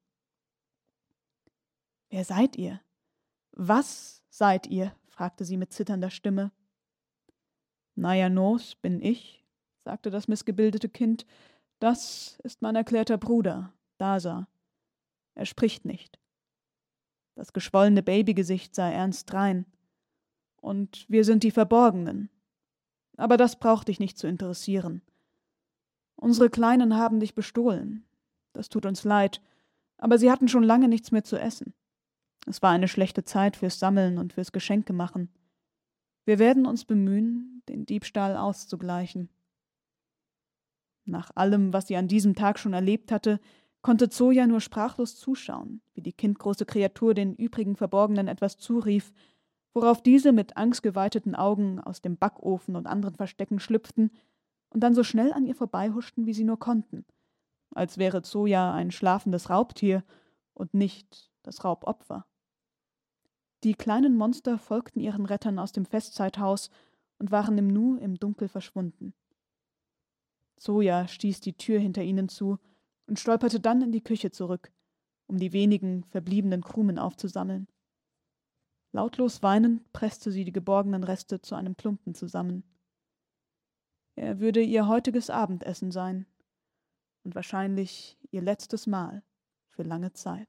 »Wer seid ihr? Was seid ihr?« fragte sie mit zitternder Stimme. »Najanos bin ich«, sagte das missgebildete Kind. »Das ist mein erklärter Bruder, Dasa. Er spricht nicht.« Das geschwollene Babygesicht sah ernst drein. »Und wir sind die Verborgenen. Aber das braucht dich nicht zu interessieren. Unsere Kleinen haben dich bestohlen. Das tut uns leid, aber sie hatten schon lange nichts mehr zu essen. Es war eine schlechte Zeit fürs Sammeln und fürs Geschenkemachen. Wir werden uns bemühen, den Diebstahl auszugleichen.« Nach allem, was sie an diesem Tag schon erlebt hatte, konnte Zoja nur sprachlos zuschauen, wie die kindgroße Kreatur den übrigen Verborgenen etwas zurief, worauf diese mit angstgeweiteten Augen aus dem Backofen und anderen Verstecken schlüpften und dann so schnell an ihr vorbeihuschten, wie sie nur konnten, als wäre Zoja ein schlafendes Raubtier und nicht das Raubopfer. Die kleinen Monster folgten ihren Rettern aus dem Festzeithaus und waren im Nu im Dunkel verschwunden. Zoja stieß die Tür hinter ihnen zu und stolperte dann in die Küche zurück, um die wenigen verbliebenen Krumen aufzusammeln. Lautlos weinend presste sie die geborgenen Reste zu einem Klumpen zusammen. Er würde ihr heutiges Abendessen sein und wahrscheinlich ihr letztes Mal für lange Zeit.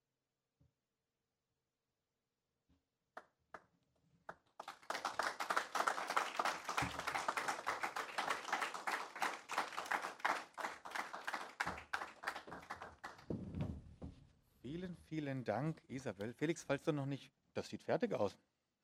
Vielen, vielen Dank, Isabel. Felix, falls du noch nicht... Das sieht fertig aus.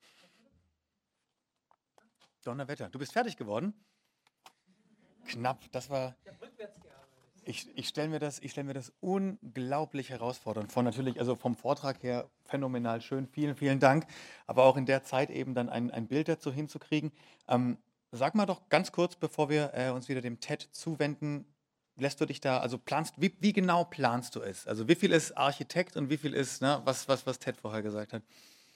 Donnerwetter. Du bist fertig geworden? Knapp. Das war... Ich stelle mir das unglaublich herausfordernd vor. Natürlich, also vom Vortrag her phänomenal schön. Vielen, vielen Dank. Aber auch in der Zeit eben dann ein Bild dazu hinzukriegen. Sag mal doch ganz kurz, bevor wir uns wieder dem TED zuwenden, lässt du dich da, also wie genau planst du es? Also wie viel ist Architekt und wie viel ist, ne, was Ted vorher gesagt hat?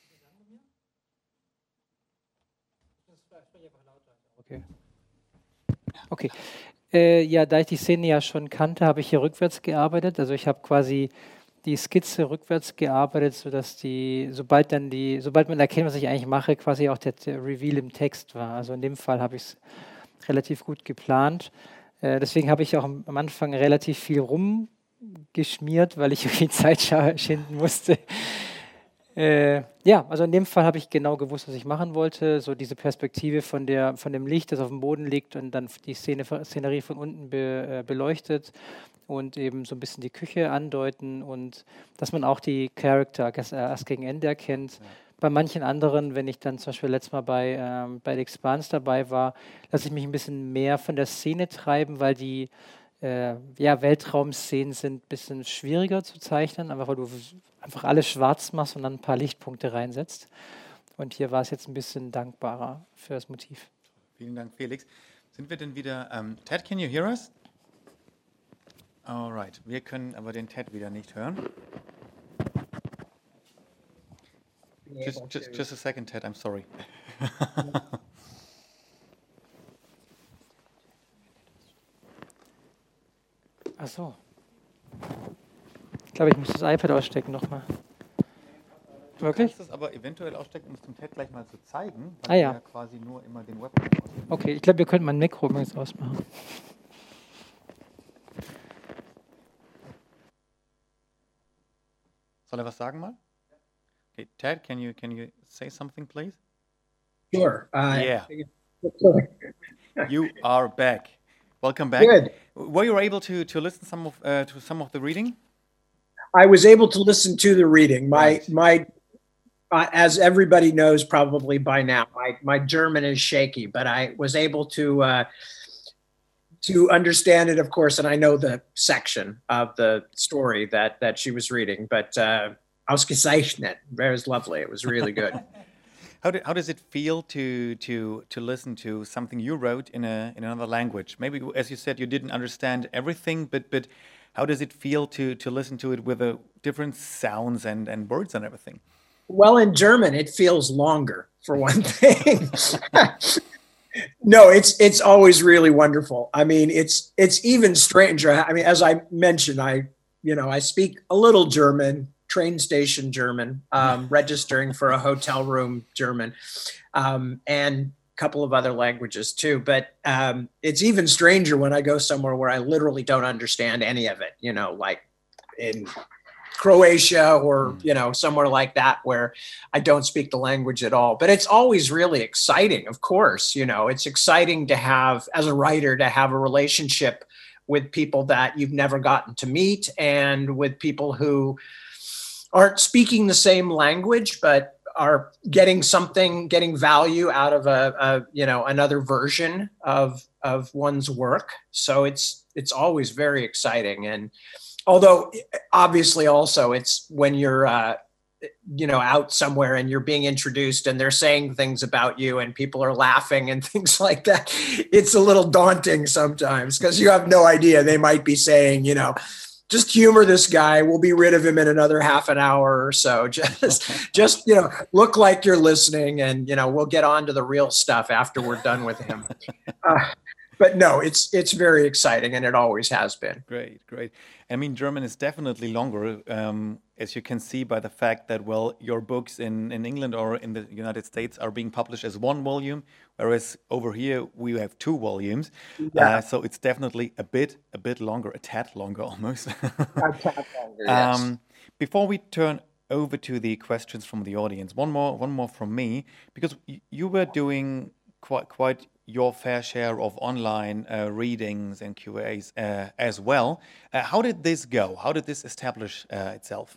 Okay. Ja, da ich die Szene ja schon kannte, habe ich hier rückwärts gearbeitet. Also ich habe quasi die Skizze rückwärts gearbeitet, sodass sobald man erkennt, was ich eigentlich mache, quasi auch der Reveal im Text war. Also in dem Fall habe ich es relativ gut geplant. Deswegen habe ich auch am Anfang relativ viel rumgeschmiert, weil ich irgendwie Zeit schinden musste. Ja, also in dem Fall habe ich genau gewusst, was ich machen wollte. So diese Perspektive von dem Licht, das auf dem Boden liegt und dann die Szenerie von unten beleuchtet und eben so ein bisschen die Küche andeuten und dass man auch die Charakter erst gegen Ende erkennt. Ja. Bei manchen anderen, wenn ich dann zum Beispiel letztes Mal bei The Expanse dabei war, lasse ich mich ein bisschen mehr von der Szene treiben, weil die Weltraumszenen sind ein bisschen schwieriger zu zeichnen, einfach weil du einfach alles schwarz machst und dann ein paar Lichtpunkte reinsetzt. Und hier war es jetzt ein bisschen dankbarer für das Motiv. Vielen Dank, Felix. Sind wir denn wieder... Ted, can you hear us? Alright, wir können aber den Ted wieder nicht hören. Just a second, Ted, I'm sorry. Ach so. Ich glaube, ich muss das iPad ausstecken nochmal. Wirklich? Du kannst es aber eventuell ausstecken, um es dem Ted gleich mal zu zeigen, weil ja quasi nur immer den Webcam ausmachen. Okay, ich glaube, wir könnten mein Mikro übrigens ausmachen. Soll er was sagen mal? Okay, Ted, can you say something, please? Sure. Yeah. You are back. Welcome back. Good. Were you able to listen to some of the reading? I was able to listen to the reading. My as everybody knows probably by now, my German is shaky, but I was able to understand it, of course, and I know the section of the story that she was reading. But ausgezeichnet, very lovely. It was really good. How does it feel to listen to something you wrote in another language? Maybe, as you said, you didn't understand everything, but How does it feel to listen to it with different sounds and words and everything? Well, in German, it feels longer, for one thing. No, it's always really wonderful. I mean, it's even stranger. I mean, as I mentioned, I speak a little German, train station German, registering for a hotel room German, and a couple of other languages too. But it's even stranger when I go somewhere where I literally don't understand any of it. Like in Croatia or somewhere like that where I don't speak the language at all. But it's always really exciting, of course. It's exciting to have, as a writer, to have a relationship with people that you've never gotten to meet, and with people who aren't speaking the same language but are getting value out of another version of one's work. So it's always very exciting. And although obviously also it's when you're out somewhere and you're being introduced and they're saying things about you and people are laughing and things like that, it's a little daunting sometimes because you have no idea. They might be saying, just humor this guy. We'll be rid of him in another half an hour or so. Just look like you're listening, and we'll get on to the real stuff after we're done with him. But no, it's very exciting, and it always has been. Great. I mean, German is definitely longer, as you can see by the fact that, your books in England or in the United States are being published as one volume, whereas over here we have 2 volumes. Yeah. So it's definitely a bit longer, a tad longer almost. A tad longer, yes. Before we turn over to the questions from the audience, one more from me, because you were doing quite your fair share of online readings and QAs as well. How did this go? How did this establish itself?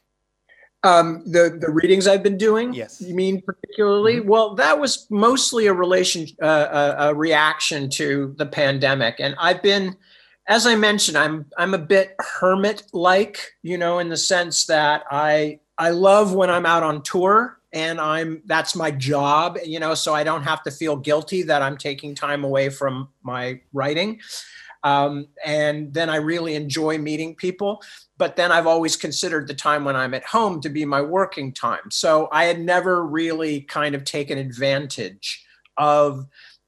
The readings I've been doing? Yes. You mean particularly? Mm-hmm. Well, that was mostly a reaction to the pandemic. And I've been, as I mentioned, I'm a bit hermit-like, in the sense that I love when I'm out on tour. And that's my job, so I don't have to feel guilty that I'm taking time away from my writing. And then I really enjoy meeting people. But then I've always considered the time when I'm at home to be my working time. So I had never really kind of taken advantage of,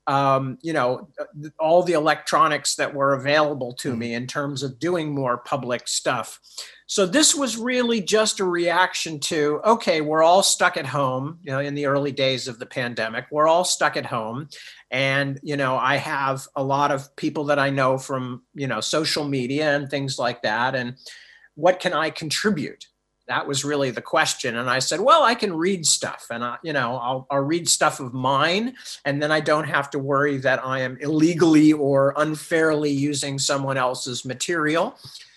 all the electronics that were available to me in terms of doing more public stuff. So this was really just a reaction to, okay, we're all stuck at home, in the early days of the pandemic, we're all stuck at home. And, I have a lot of people that I know from, social media and things like that. And what can I contribute? That was really the question. And I said, well, I can read stuff, and I'll read stuff of mine. And then I don't have to worry that I am illegally or unfairly using someone else's material.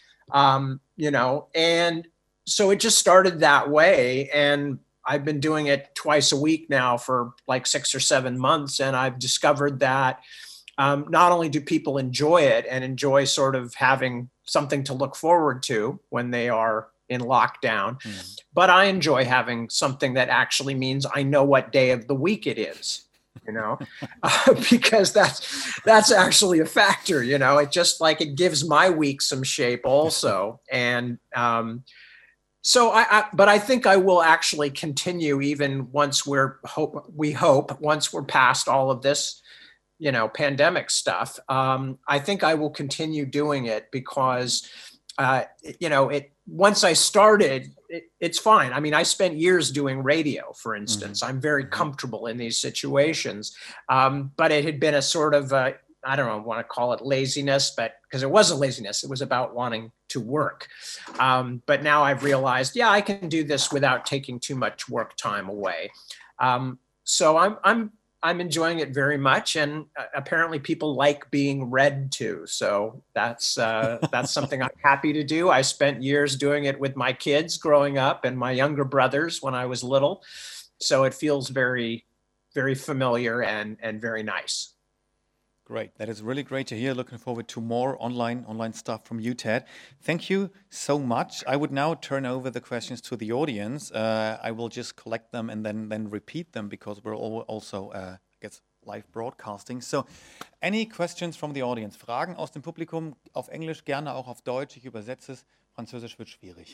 And so it just started that way. And I've been doing it twice a week now for like 6 or 7 months. And I've discovered that not only do people enjoy it and enjoy sort of having something to look forward to when they are in lockdown, but I enjoy having something that actually means I know what day of the week it is. Because that's actually a factor, it just like it gives my week some shape also. And so but I think I will actually continue even once we hope once we're past all of this, pandemic stuff. I think I will continue doing it because, once I started, it's fine. I mean, I spent years doing radio, for instance. I'm very comfortable in these situations. But it had been a sort of, I don't know, I want to call it laziness, but because it wasn't laziness, it was about wanting to work. But now I've realized, I can do this without taking too much work time away. So I'm enjoying it very much, and apparently people like being read to. So that's something I'm happy to do. I spent years doing it with my kids growing up and my younger brothers when I was little. So it feels very, very familiar and very nice. Great. That is really great to hear. Looking forward to more online stuff from you, Ted. Thank you so much. I would now turn over the questions to the audience. I will just collect them and then repeat them because we're also, live broadcasting. So, any questions from the audience? Fragen aus dem Publikum auf Englisch, gerne auch auf Deutsch. Ich übersetze es. Französisch wird schwierig.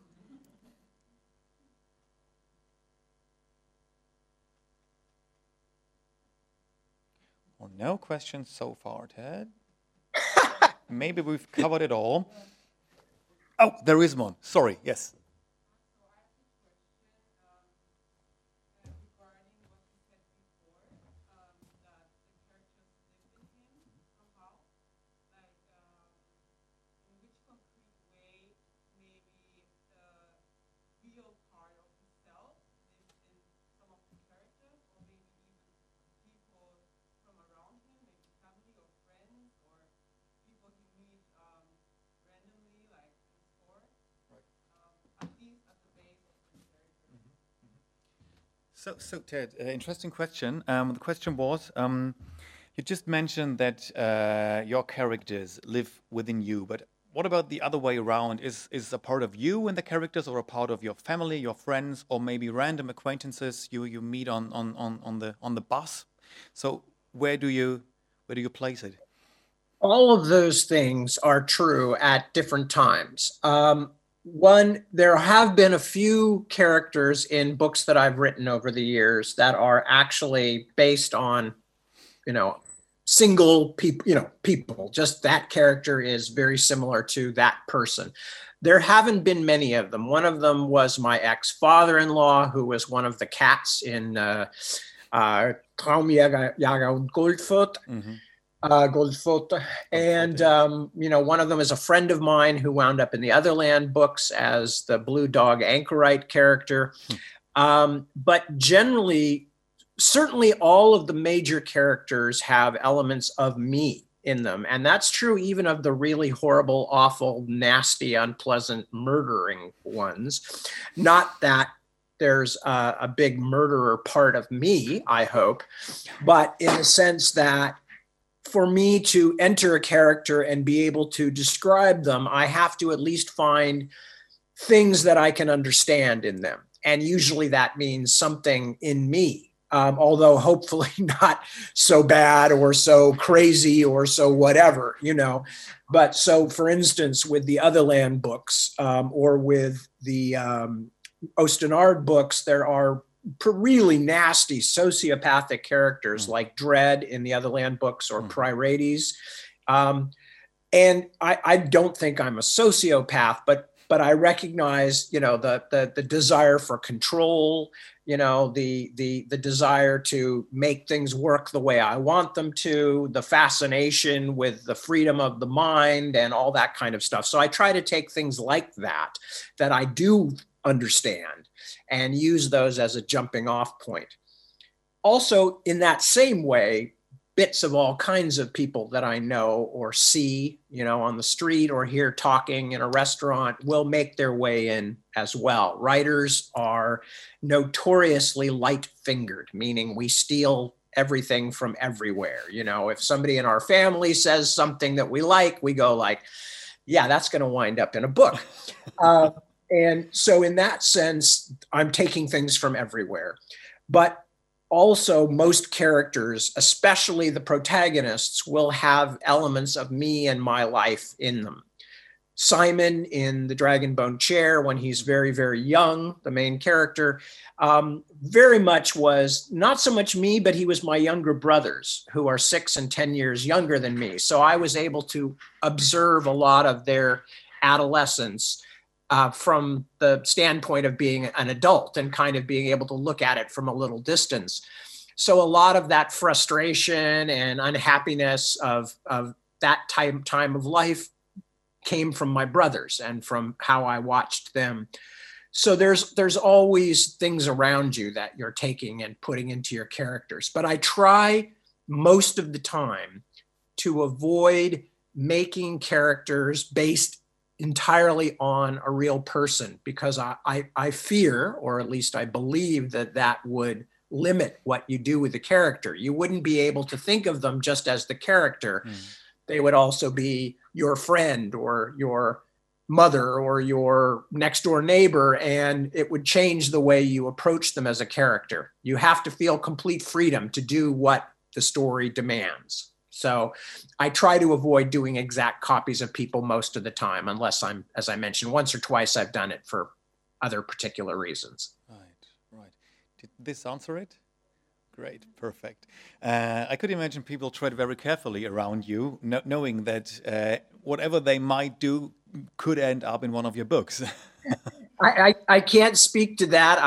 Well, no questions so far, Ted. Maybe we've covered it all. Oh, there is one. Sorry, yes. So Ted, interesting question. The question was, you just mentioned that your characters live within you, but what about the other way around? Is a part of you in the characters, or a part of your family, your friends, or maybe random acquaintances you meet on the bus? So where do you place it? All of those things are true at different times. There have been a few characters in books that I've written over the years that are actually based on, single people, just that character is very similar to that person. There haven't been many of them. One of them was my ex-father-in-law, who was one of the cats in Traumjäger und Goldfurt. Goldfoot. And, one of them is a friend of mine who wound up in the Otherland books as the Blue Dog Anchorite character. But generally, certainly all of the major characters have elements of me in them. And that's true even of the really horrible, awful, nasty, unpleasant, murdering ones. Not that there's a big murderer part of me, I hope, but in the sense that for me to enter a character and be able to describe them, I have to at least find things that I can understand in them. And usually that means something in me, although hopefully not so bad or so crazy or so whatever, But so, for instance, with the Otherland books or with the Ostenard books, there are really nasty sociopathic characters like Dread in the Otherland books or Pryrates. And I don't think I'm a sociopath, but I recognize, the desire for control, the desire to make things work the way I want them to, the fascination with the freedom of the mind and all that kind of stuff. So I try to take things like that I do understand and use those as a jumping off point. Also, in that same way, bits of all kinds of people that I know or see, on the street or hear talking in a restaurant will make their way in as well. Writers are notoriously light-fingered, meaning we steal everything from everywhere. If somebody in our family says something that we like, we go like, yeah, that's going to wind up in a book. And so in that sense, I'm taking things from everywhere. But also most characters, especially the protagonists, will have elements of me and my life in them. Simon in the Dragonbone Chair, when he's very, very young, the main character, very much was not so much me, but he was my younger brothers who are 6 and 10 years younger than me. So I was able to observe a lot of their adolescence from the standpoint of being an adult and kind of being able to look at it from a little distance. So a lot of that frustration and unhappiness of that time of life came from my brothers and from how I watched them. So there's always things around you that you're taking and putting into your characters. But I try most of the time to avoid making characters based entirely on a real person, because I fear, or at least I believe, that would limit what you do with the character. You wouldn't be able to think of them just as the character. They would also be your friend or your mother or your next door neighbor, and it would change the way you approach them as a character. You have to feel complete freedom to do what the story demands. So I try to avoid doing exact copies of people most of the time, unless I'm, as I mentioned, once or twice I've done it for other particular reasons. Right. Did this answer it? Great, perfect. I could imagine people tread very carefully around you, knowing that whatever they might do could end up in one of your books. I can't speak to that.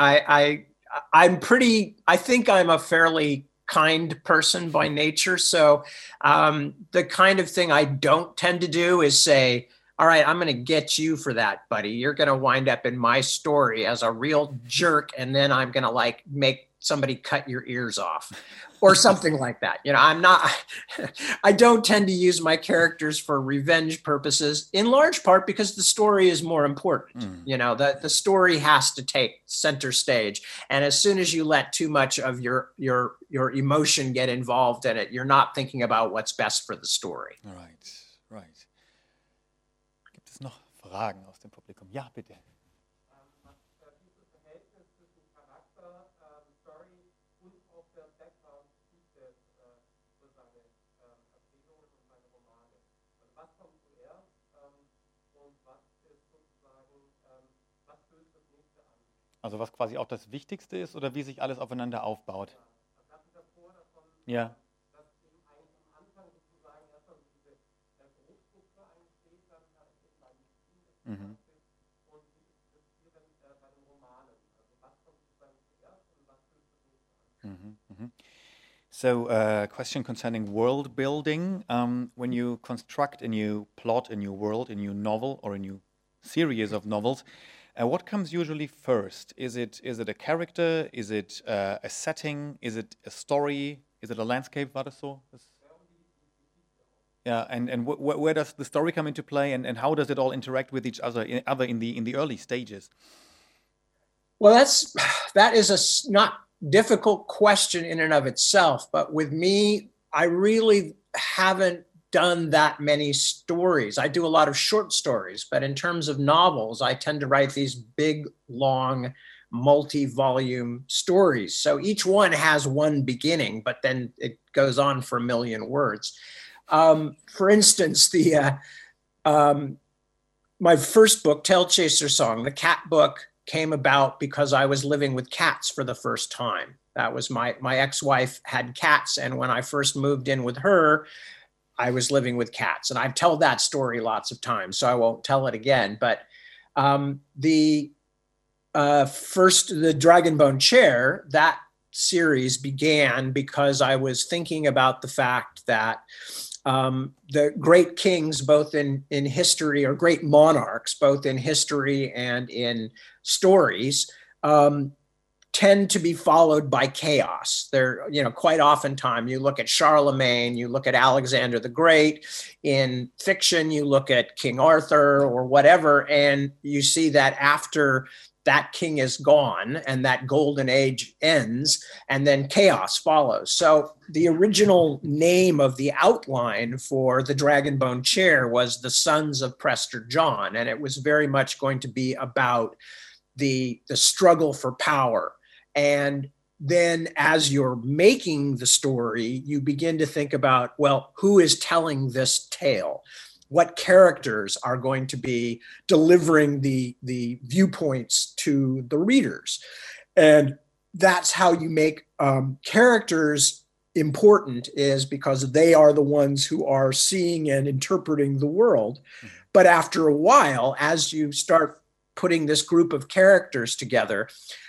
I think I'm a fairly kind person by nature. So the kind of thing I don't tend to do is say, all right, I'm going to get you for that, buddy. You're going to wind up in my story as a real jerk. And then I'm going to like make somebody cut your ears off or something like that. You know, I don't tend to use my characters for revenge purposes, in large part because the story is more important. You know, the story has to take center stage. And as soon as you let too much of your emotion get involved in it, you're not thinking about what's best for the story. Right. Gibt es noch Fragen aus dem Publikum? Ja, bitte. Also was quasi auch das Wichtigste ist oder wie sich alles aufeinander aufbaut? Ja. Mhm. So, question concerning world building. When you construct a new plot, a new world, a new novel, or a new series of novels, what comes usually first? Is it a character? Is it a setting? Is it a story? Is it a landscape? War das so? Yeah, and where does the story come into play, and how does it all interact with each other in the early stages? Well, that is a not difficult question in and of itself, but with me, I really haven't done that many stories. I do a lot of short stories, but in terms of novels, I tend to write these big, long, multi-volume stories. So each one has one beginning, but then it goes on for a million words. For instance, my first book, Tail Chaser Song, the cat book, came about because I was living with cats for the first time. That was my ex-wife had cats, and when I first moved in with her, I was living with cats. And I've told that story lots of times, so I won't tell it again. But the Dragonbone Chair, that series began because I was thinking about the fact that the great kings, both in history, or great monarchs, both in history and in stories, tend to be followed by chaos. They're, quite oftentimes you look at Charlemagne, you look at Alexander the Great. In fiction, you look at King Arthur or whatever, and you see that after that king is gone and that golden age ends, and then chaos follows. So the original name of the outline for the Dragonbone Chair was The Sons of Prester John, and it was very much going to be about the struggle for power. And then as you're making the story, you begin to think about, well, who is telling this tale? What characters are going to be delivering the viewpoints to the readers? And that's how you make characters important, is because they are the ones who are seeing and interpreting the world. But after a while, as you start putting this group of characters together,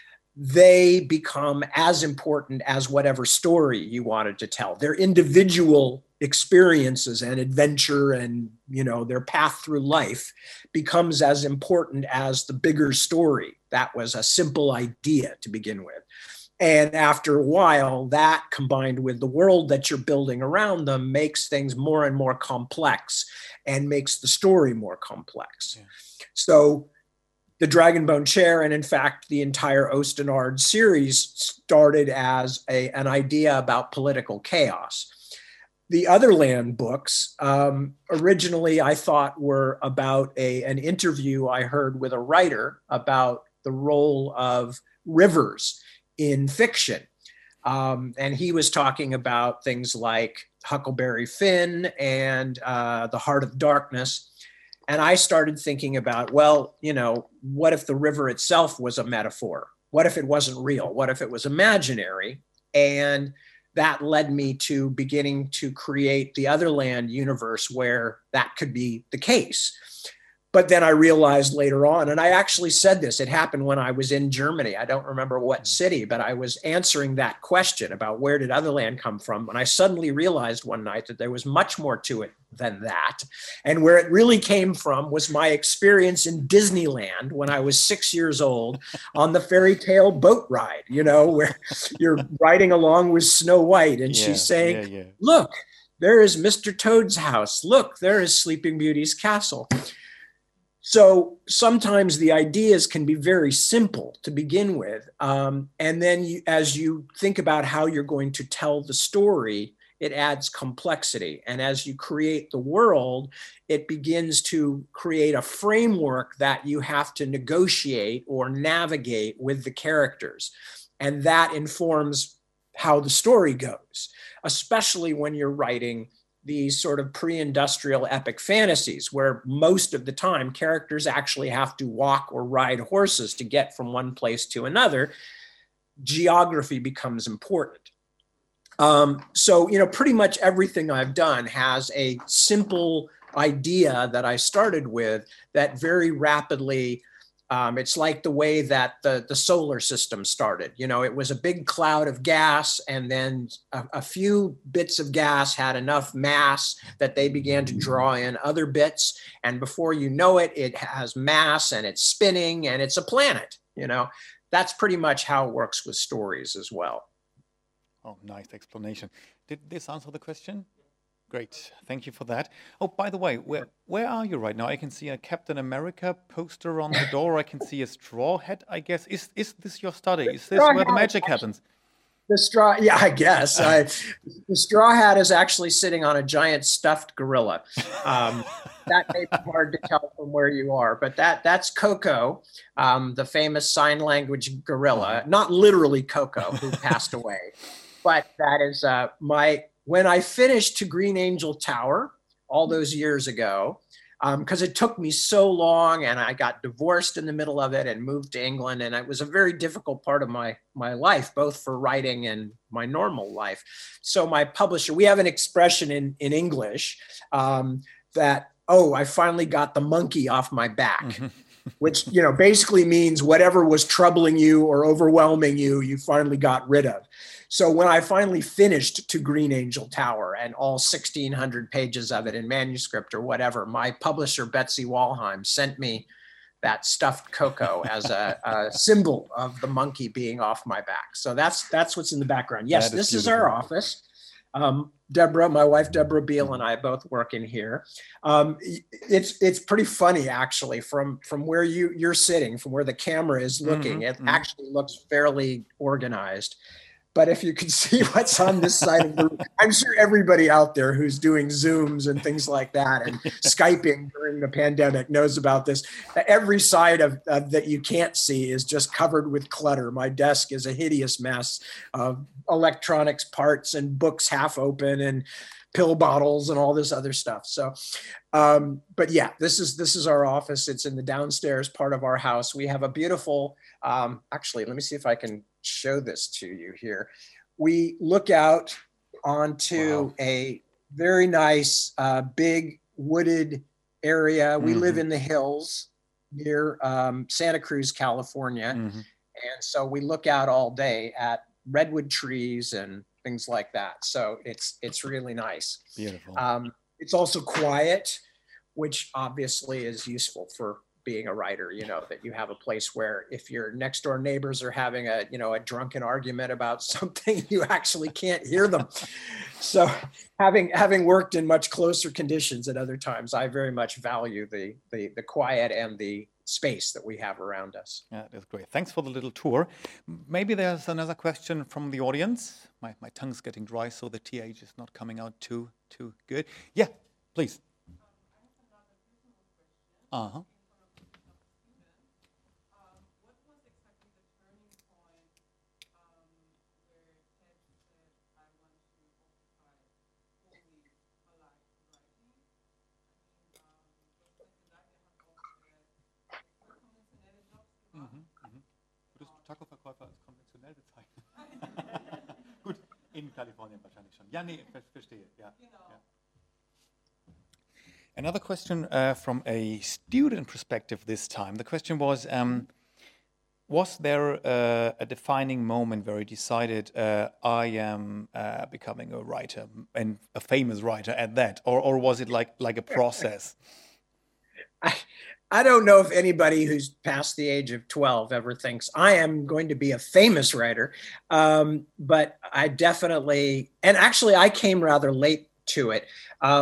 they become as important as whatever story you wanted to tell. Their individual experiences and adventure and, their path through life becomes as important as the bigger story. That was a simple idea to begin with. And after a while, that combined with the world that you're building around them makes things more and more complex and makes the story more complex. Yeah. So the Dragonbone Chair, and in fact, the entire Ostenard series, started as an idea about political chaos. The Otherland books, originally I thought were about an interview I heard with a writer about the role of rivers in fiction. And he was talking about things like Huckleberry Finn and The Heart of Darkness. And I started thinking about, well, you know, what if the river itself was a metaphor? What if it wasn't real? What if it was imaginary? And that led me to beginning to create the Otherland universe where that could be the case. But then I realized later on, and I actually said this, it happened when I was in Germany. I don't remember what city, but I was answering that question about where did Otherland come from. And I suddenly realized one night that there was much more to it than that. And where it really came from was my experience in Disneyland when I was 6 years old on the fairy tale boat ride, you know, where you're riding along with Snow White and she's saying, look, there is Mr. Toad's house. Look, there is Sleeping Beauty's castle. So sometimes the ideas can be very simple to begin with. And then as you think about how you're going to tell the story, it adds complexity. And as you create the world, it begins to create a framework that you have to negotiate or navigate with the characters. And that informs how the story goes, especially when you're writing these sort of pre-industrial epic fantasies where most of the time characters actually have to walk or ride horses to get from one place to another. Geography becomes important. So, you know, pretty much everything I've done has a simple idea that I started with that very rapidly, it's like the way that the solar system started. You know, it was a big cloud of gas, and then a few bits of gas had enough mass that they began to draw in other bits. And before you know it, it has mass and it's spinning and it's a planet. You know, that's pretty much how it works with stories as well. Oh, nice explanation. Did this answer the question? Great, thank you for that. Oh, by the way, where are you right now? I can see a Captain America poster on the door. I can see a straw hat, I guess. Is this your study? Is this where the magic happens? The straw, yeah, I guess. The straw hat is actually sitting on a giant stuffed gorilla. That may be hard to tell from where you are, but that's Coco, the famous sign language gorilla. Not literally Coco, who passed away, but that is when I finished To Green Angel Tower all those years ago, because it took me so long and I got divorced in the middle of it and moved to England. And it was a very difficult part of my life, both for writing and my normal life. So my publisher, we have an expression in English that, oh, I finally got the monkey off my back, which, you know, basically means whatever was troubling you or overwhelming you, you finally got rid of. So when I finally finished To Green Angel Tower and all 1,600 pages of it in manuscript or whatever, my publisher, Betsy Walheim, sent me that stuffed Coco as a symbol of the monkey being off my back. So that's what's in the background. Yes, this is our office. Deborah, my wife, Deborah Beale, and I both work in here. It's pretty funny, actually, from where you're sitting, from where the camera is looking, it actually looks fairly organized. But if you can see what's on this side of the room, I'm sure everybody out there who's doing Zooms and things like that and Skyping during the pandemic knows about this. Every side of that you can't see is just covered with clutter. My desk is a hideous mess of electronics parts and books half open and pill bottles and all this other stuff. So, but yeah, this is our office. It's in the downstairs part of our house. We have a beautiful, actually, let me see if I can show this to you here. We look out onto a very nice, big wooded area. We live in the hills near Santa Cruz, California. And so we look out all day at redwood trees and things like that. So it's really nice. Beautiful. It's also quiet, which obviously is useful for being a writer, you know, that you have a place where if your next door neighbors are having a drunken argument about something, you actually can't hear them. So having worked in much closer conditions at other times, I very much value the quiet and the space that we have around us. Yeah, that's great. Thanks for the little tour. Maybe there's another question from the audience. My tongue's getting dry, so the TH is not coming out too good. Yeah, please. Uh-huh. Kalifornien wahrscheinlich schon. Ja, nee, verstehe. Ja. Ja. Another question from a student perspective this time. The question was there a defining moment where you decided I am becoming a writer and a famous writer at that, or was it like a process? I don't know if anybody who's past the age of 12 ever thinks I am going to be a famous writer, but I definitely, and actually I came rather late to it.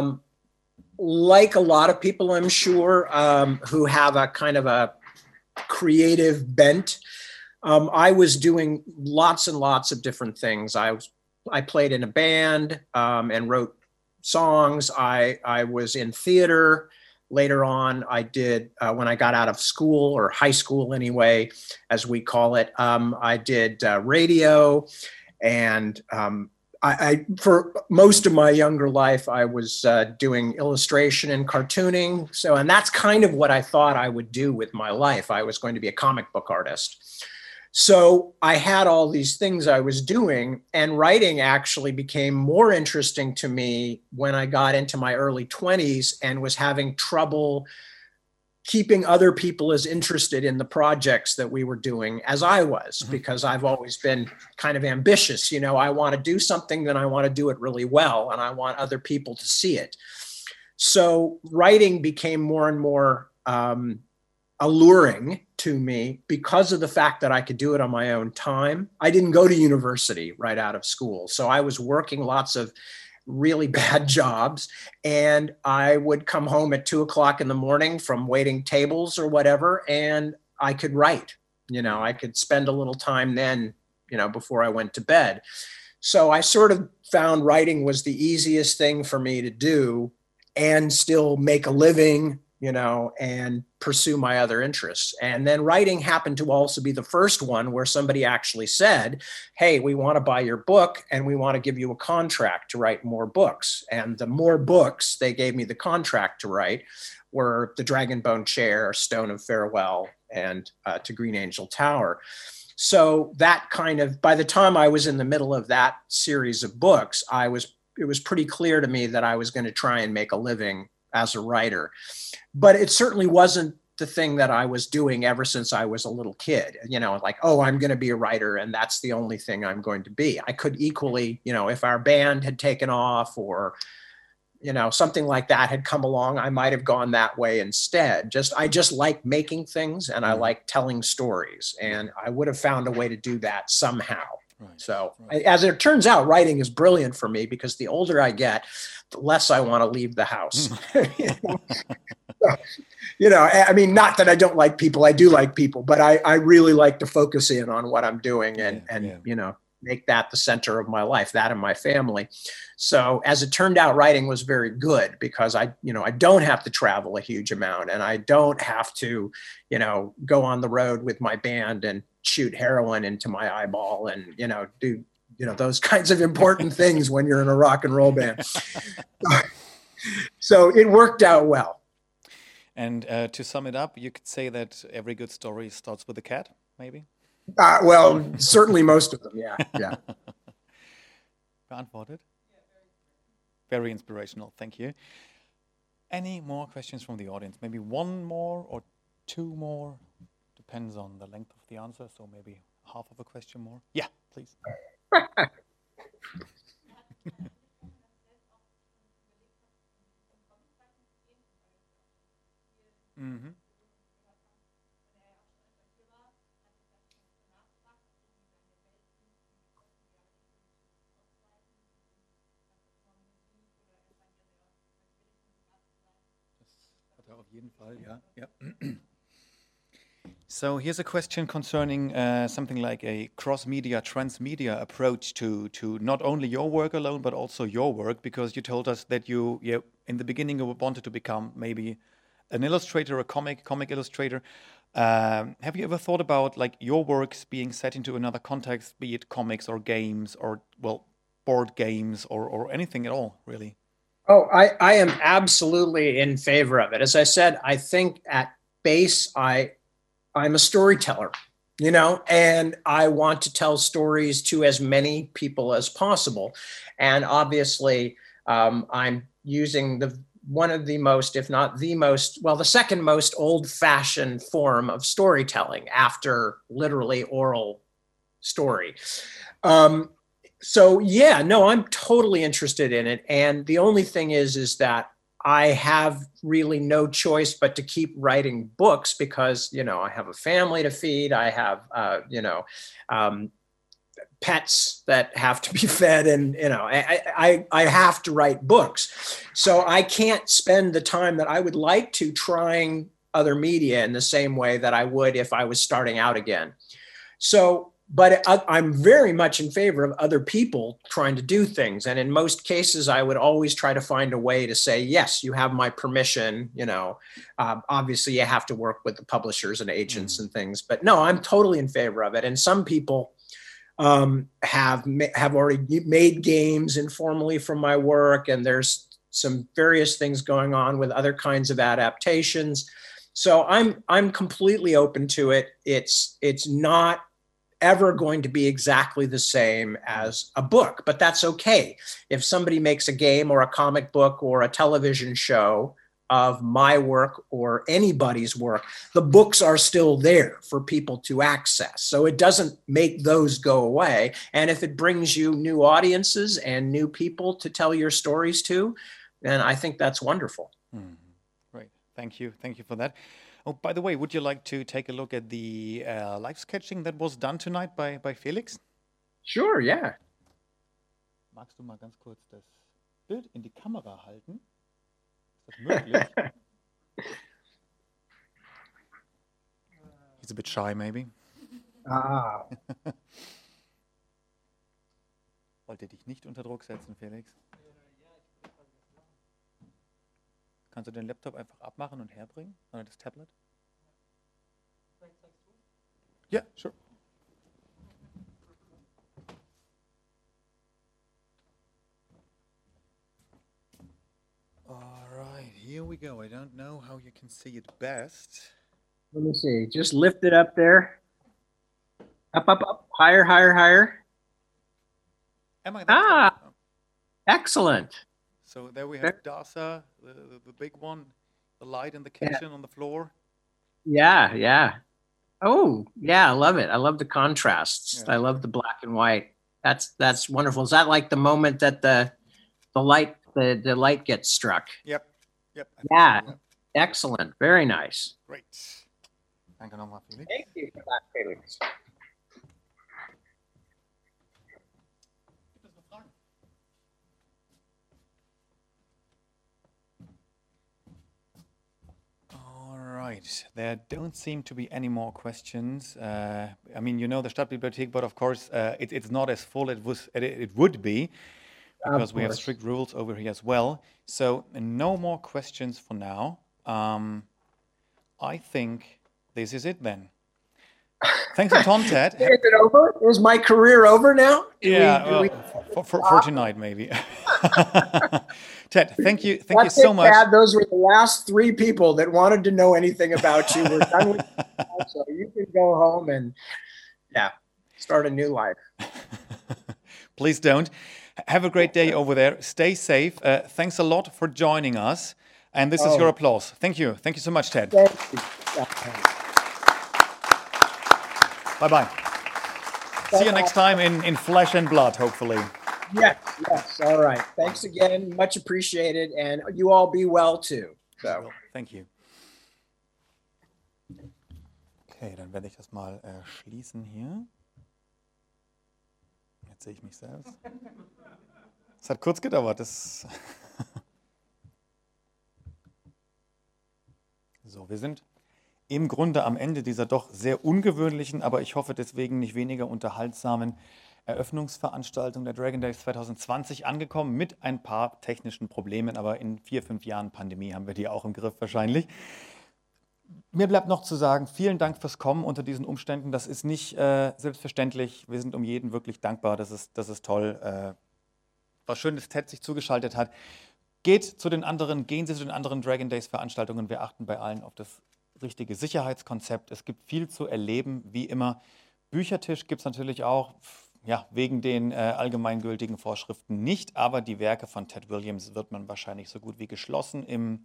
Like a lot of people, I'm sure, who have a kind of a creative bent, I was doing lots and lots of different things. I played in a band and wrote songs. I was in theater. Later on, I did, when I got out of school, or high school anyway, as we call it, I did radio. And I for most of my younger life, I was doing illustration and cartooning. So, and that's kind of what I thought I would do with my life. I was going to be a comic book artist. So I had all these things I was doing, and writing actually became more interesting to me when I got into my early 20s and was having trouble keeping other people as interested in the projects that we were doing as I was, because I've always been kind of ambitious. You know, I want to do something, then I want to do it really well, and I want other people to see it. So writing became more and more alluring to me because of the fact that I could do it on my own time. I didn't go to university right out of school, so I was working lots of really bad jobs, and I would come home at 2:00 in the morning from waiting tables or whatever, and I could write. You know, I could spend a little time then, you know, before I went to bed. So I sort of found writing was the easiest thing for me to do and still make a living, you know, and pursue my other interests. And then writing happened to also be the first one where somebody actually said, hey, we want to buy your book and we want to give you a contract to write more books. And the more books they gave me the contract to write were The Dragonbone Chair, Stone of Farewell, and To Green Angel Tower. So that kind of, by the time I was in the middle of that series of books, it was pretty clear to me that I was going to try and make a living as a writer. But it certainly wasn't the thing that I was doing ever since I was a little kid, you know, like, oh, I'm going to be a writer and that's the only thing I'm going to be. I could equally, you know, if our band had taken off or, you know, something like that had come along, I might have gone that way instead. I just like making things, and I like telling stories, and I would have found a way to do that somehow. Right. So as it turns out, writing is brilliant for me because the older I get, the less I want to leave the house. You know, I mean, not that I don't like people, I do like people, but I really like to focus in on what I'm doing and you know, make that the center of my life, that and my family. So as it turned out, writing was very good because I don't have to travel a huge amount, and I don't have to, you know, go on the road with my band and shoot heroin into my eyeball and, you know, do, you know, those kinds of important things when you're in a rock and roll band. So it worked out well. And to sum it up, you could say that every good story starts with a cat, maybe? Well, certainly most of them, yeah. Beantwortet? Very inspirational, thank you. Any more questions from the audience? Maybe one more or two more? Depends on the length of the answer, so maybe half of a question more. Yeah, please. Mm-hmm. Auf jeden Fall, yeah. So here's a question concerning something like a cross-media, transmedia approach to not only your work alone, but also your work, because you told us that you in the beginning you wanted to become maybe an illustrator, a comic illustrator. Have you ever thought about like your works being set into another context, be it comics or games or, well, board games or anything at all, really? Oh, I am absolutely in favor of it. As I said, I think at base, I'm a storyteller. you know, and I want to tell stories to as many people as possible. And obviously, I'm using one of the most, if not the most, well, the second most old-fashioned form of storytelling after literally oral story. So yeah, no, I'm totally interested in it. And the only thing is that I have really no choice but to keep writing books because, you know, I have a family to feed. I have, pets that have to be fed, and you know, I have to write books. So I can't spend the time that I would like to trying other media in the same way that I would if I was starting out again. So, but I'm very much in favor of other people trying to do things. And in most cases, I would always try to find a way to say, yes, you have my permission. You know, obviously you have to work with the publishers and agents and things, but no, I'm totally in favor of it. And some people have already made games informally from my work, and there's some various things going on with other kinds of adaptations. So I'm completely open to it. It's not ever going to be exactly the same as a book, but that's okay. If somebody makes a game or a comic book or a television show of my work or anybody's work, the books are still there for people to access. So it doesn't make those go away. And if it brings you new audiences and new people to tell your stories to, then I think that's wonderful. Great. Thank you. Thank you for that. Oh, by the way, would you like to take a look at the live sketching that was done tonight by Felix? Sure, yeah. Magst du mal ganz kurz das Bild in die Kamera halten? Ist das möglich? He's a bit shy, maybe. Ah. Wollte dich nicht unter Druck setzen, Felix. Kannst du den Laptop einfach abmachen und herbringen? Oder das Tablet? Ja, sure. All right, here we go. I don't know how you can see it best. Let me see. Just lift it up there. Up, up, up. Higher, higher, higher. Am I Ah, excellent. So there we have Darsa, the big one, the light in the kitchen on the floor. Yeah, yeah. Oh, yeah, I love it. I love the contrasts. Yeah. I love the black and white. That's wonderful. Is that like the moment that the light gets struck? Yep. Yep. Yeah. Yep. Excellent. Very nice. Great. Danke nochmal, Felix. Thank you for that, Felix. All right. There don't seem to be any more questions. I mean, you know the Stadtbibliothek, but of course, it's not as full as it would be because we have strict rules over here as well. So no more questions for now. I think this is it then. Thanks a ton, Ted. Is it over? Is my career over now? For tonight, maybe. Ted, thank you so much. Dad, those were the last 3 people that wanted to know anything about you. We're done with you now, so you can go home and, start a new life. Please don't. Have a great day over there. Stay safe. Thanks a lot for joining us. And this is your applause. Thank you. Thank you so much, Ted. Thank you. Bye-bye. See you next time in flesh and blood, hopefully. Yes. All right. Thanks again. Much appreciated. And you all be well too. So. Thank you. Okay, dann werde ich das mal schließen hier. Jetzt sehe ich mich selbst. Es hat kurz gedauert. So, wir sind im Grunde am Ende dieser doch sehr ungewöhnlichen, aber ich hoffe deswegen nicht weniger unterhaltsamen Eröffnungsveranstaltung der Dragon Days 2020 angekommen mit ein paar technischen Problemen, aber in 4-5 Jahren Pandemie haben wir die auch im Griff wahrscheinlich. Mir bleibt noch zu sagen, vielen Dank fürs Kommen unter diesen Umständen. Das ist nicht selbstverständlich. Wir sind um jeden wirklich dankbar. Das ist toll. War schön, dass Ted sich zugeschaltet hat. Gehen Sie zu den anderen Dragon Days Veranstaltungen. Wir achten bei allen auf das richtige Sicherheitskonzept. Es gibt viel zu erleben, wie immer. Büchertisch gibt es natürlich auch, ja, wegen den allgemeingültigen Vorschriften nicht, aber die Werke von Ted Williams wird man wahrscheinlich so gut wie geschlossen im,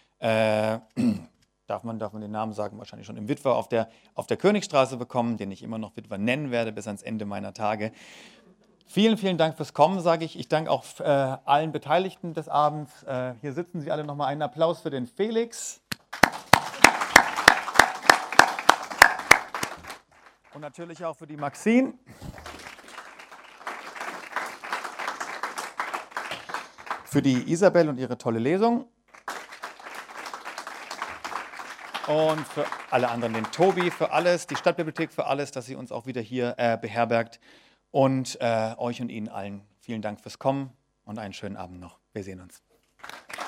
darf man den Namen sagen, wahrscheinlich schon im Witwer auf der Königstraße bekommen, den ich immer noch Witwer nennen werde bis ans Ende meiner Tage. Vielen, vielen Dank fürs Kommen, sage ich. Ich danke auch allen Beteiligten des Abends. Hier sitzen Sie alle nochmal. Einen Applaus für den Felix. Und natürlich auch für die Maxine. Für die Isabel und ihre tolle Lesung. Und für alle anderen, den Tobi für alles, die Stadtbibliothek für alles, dass sie uns auch wieder hier beherbergt. Und euch und Ihnen allen vielen Dank fürs Kommen und einen schönen Abend noch. Wir sehen uns.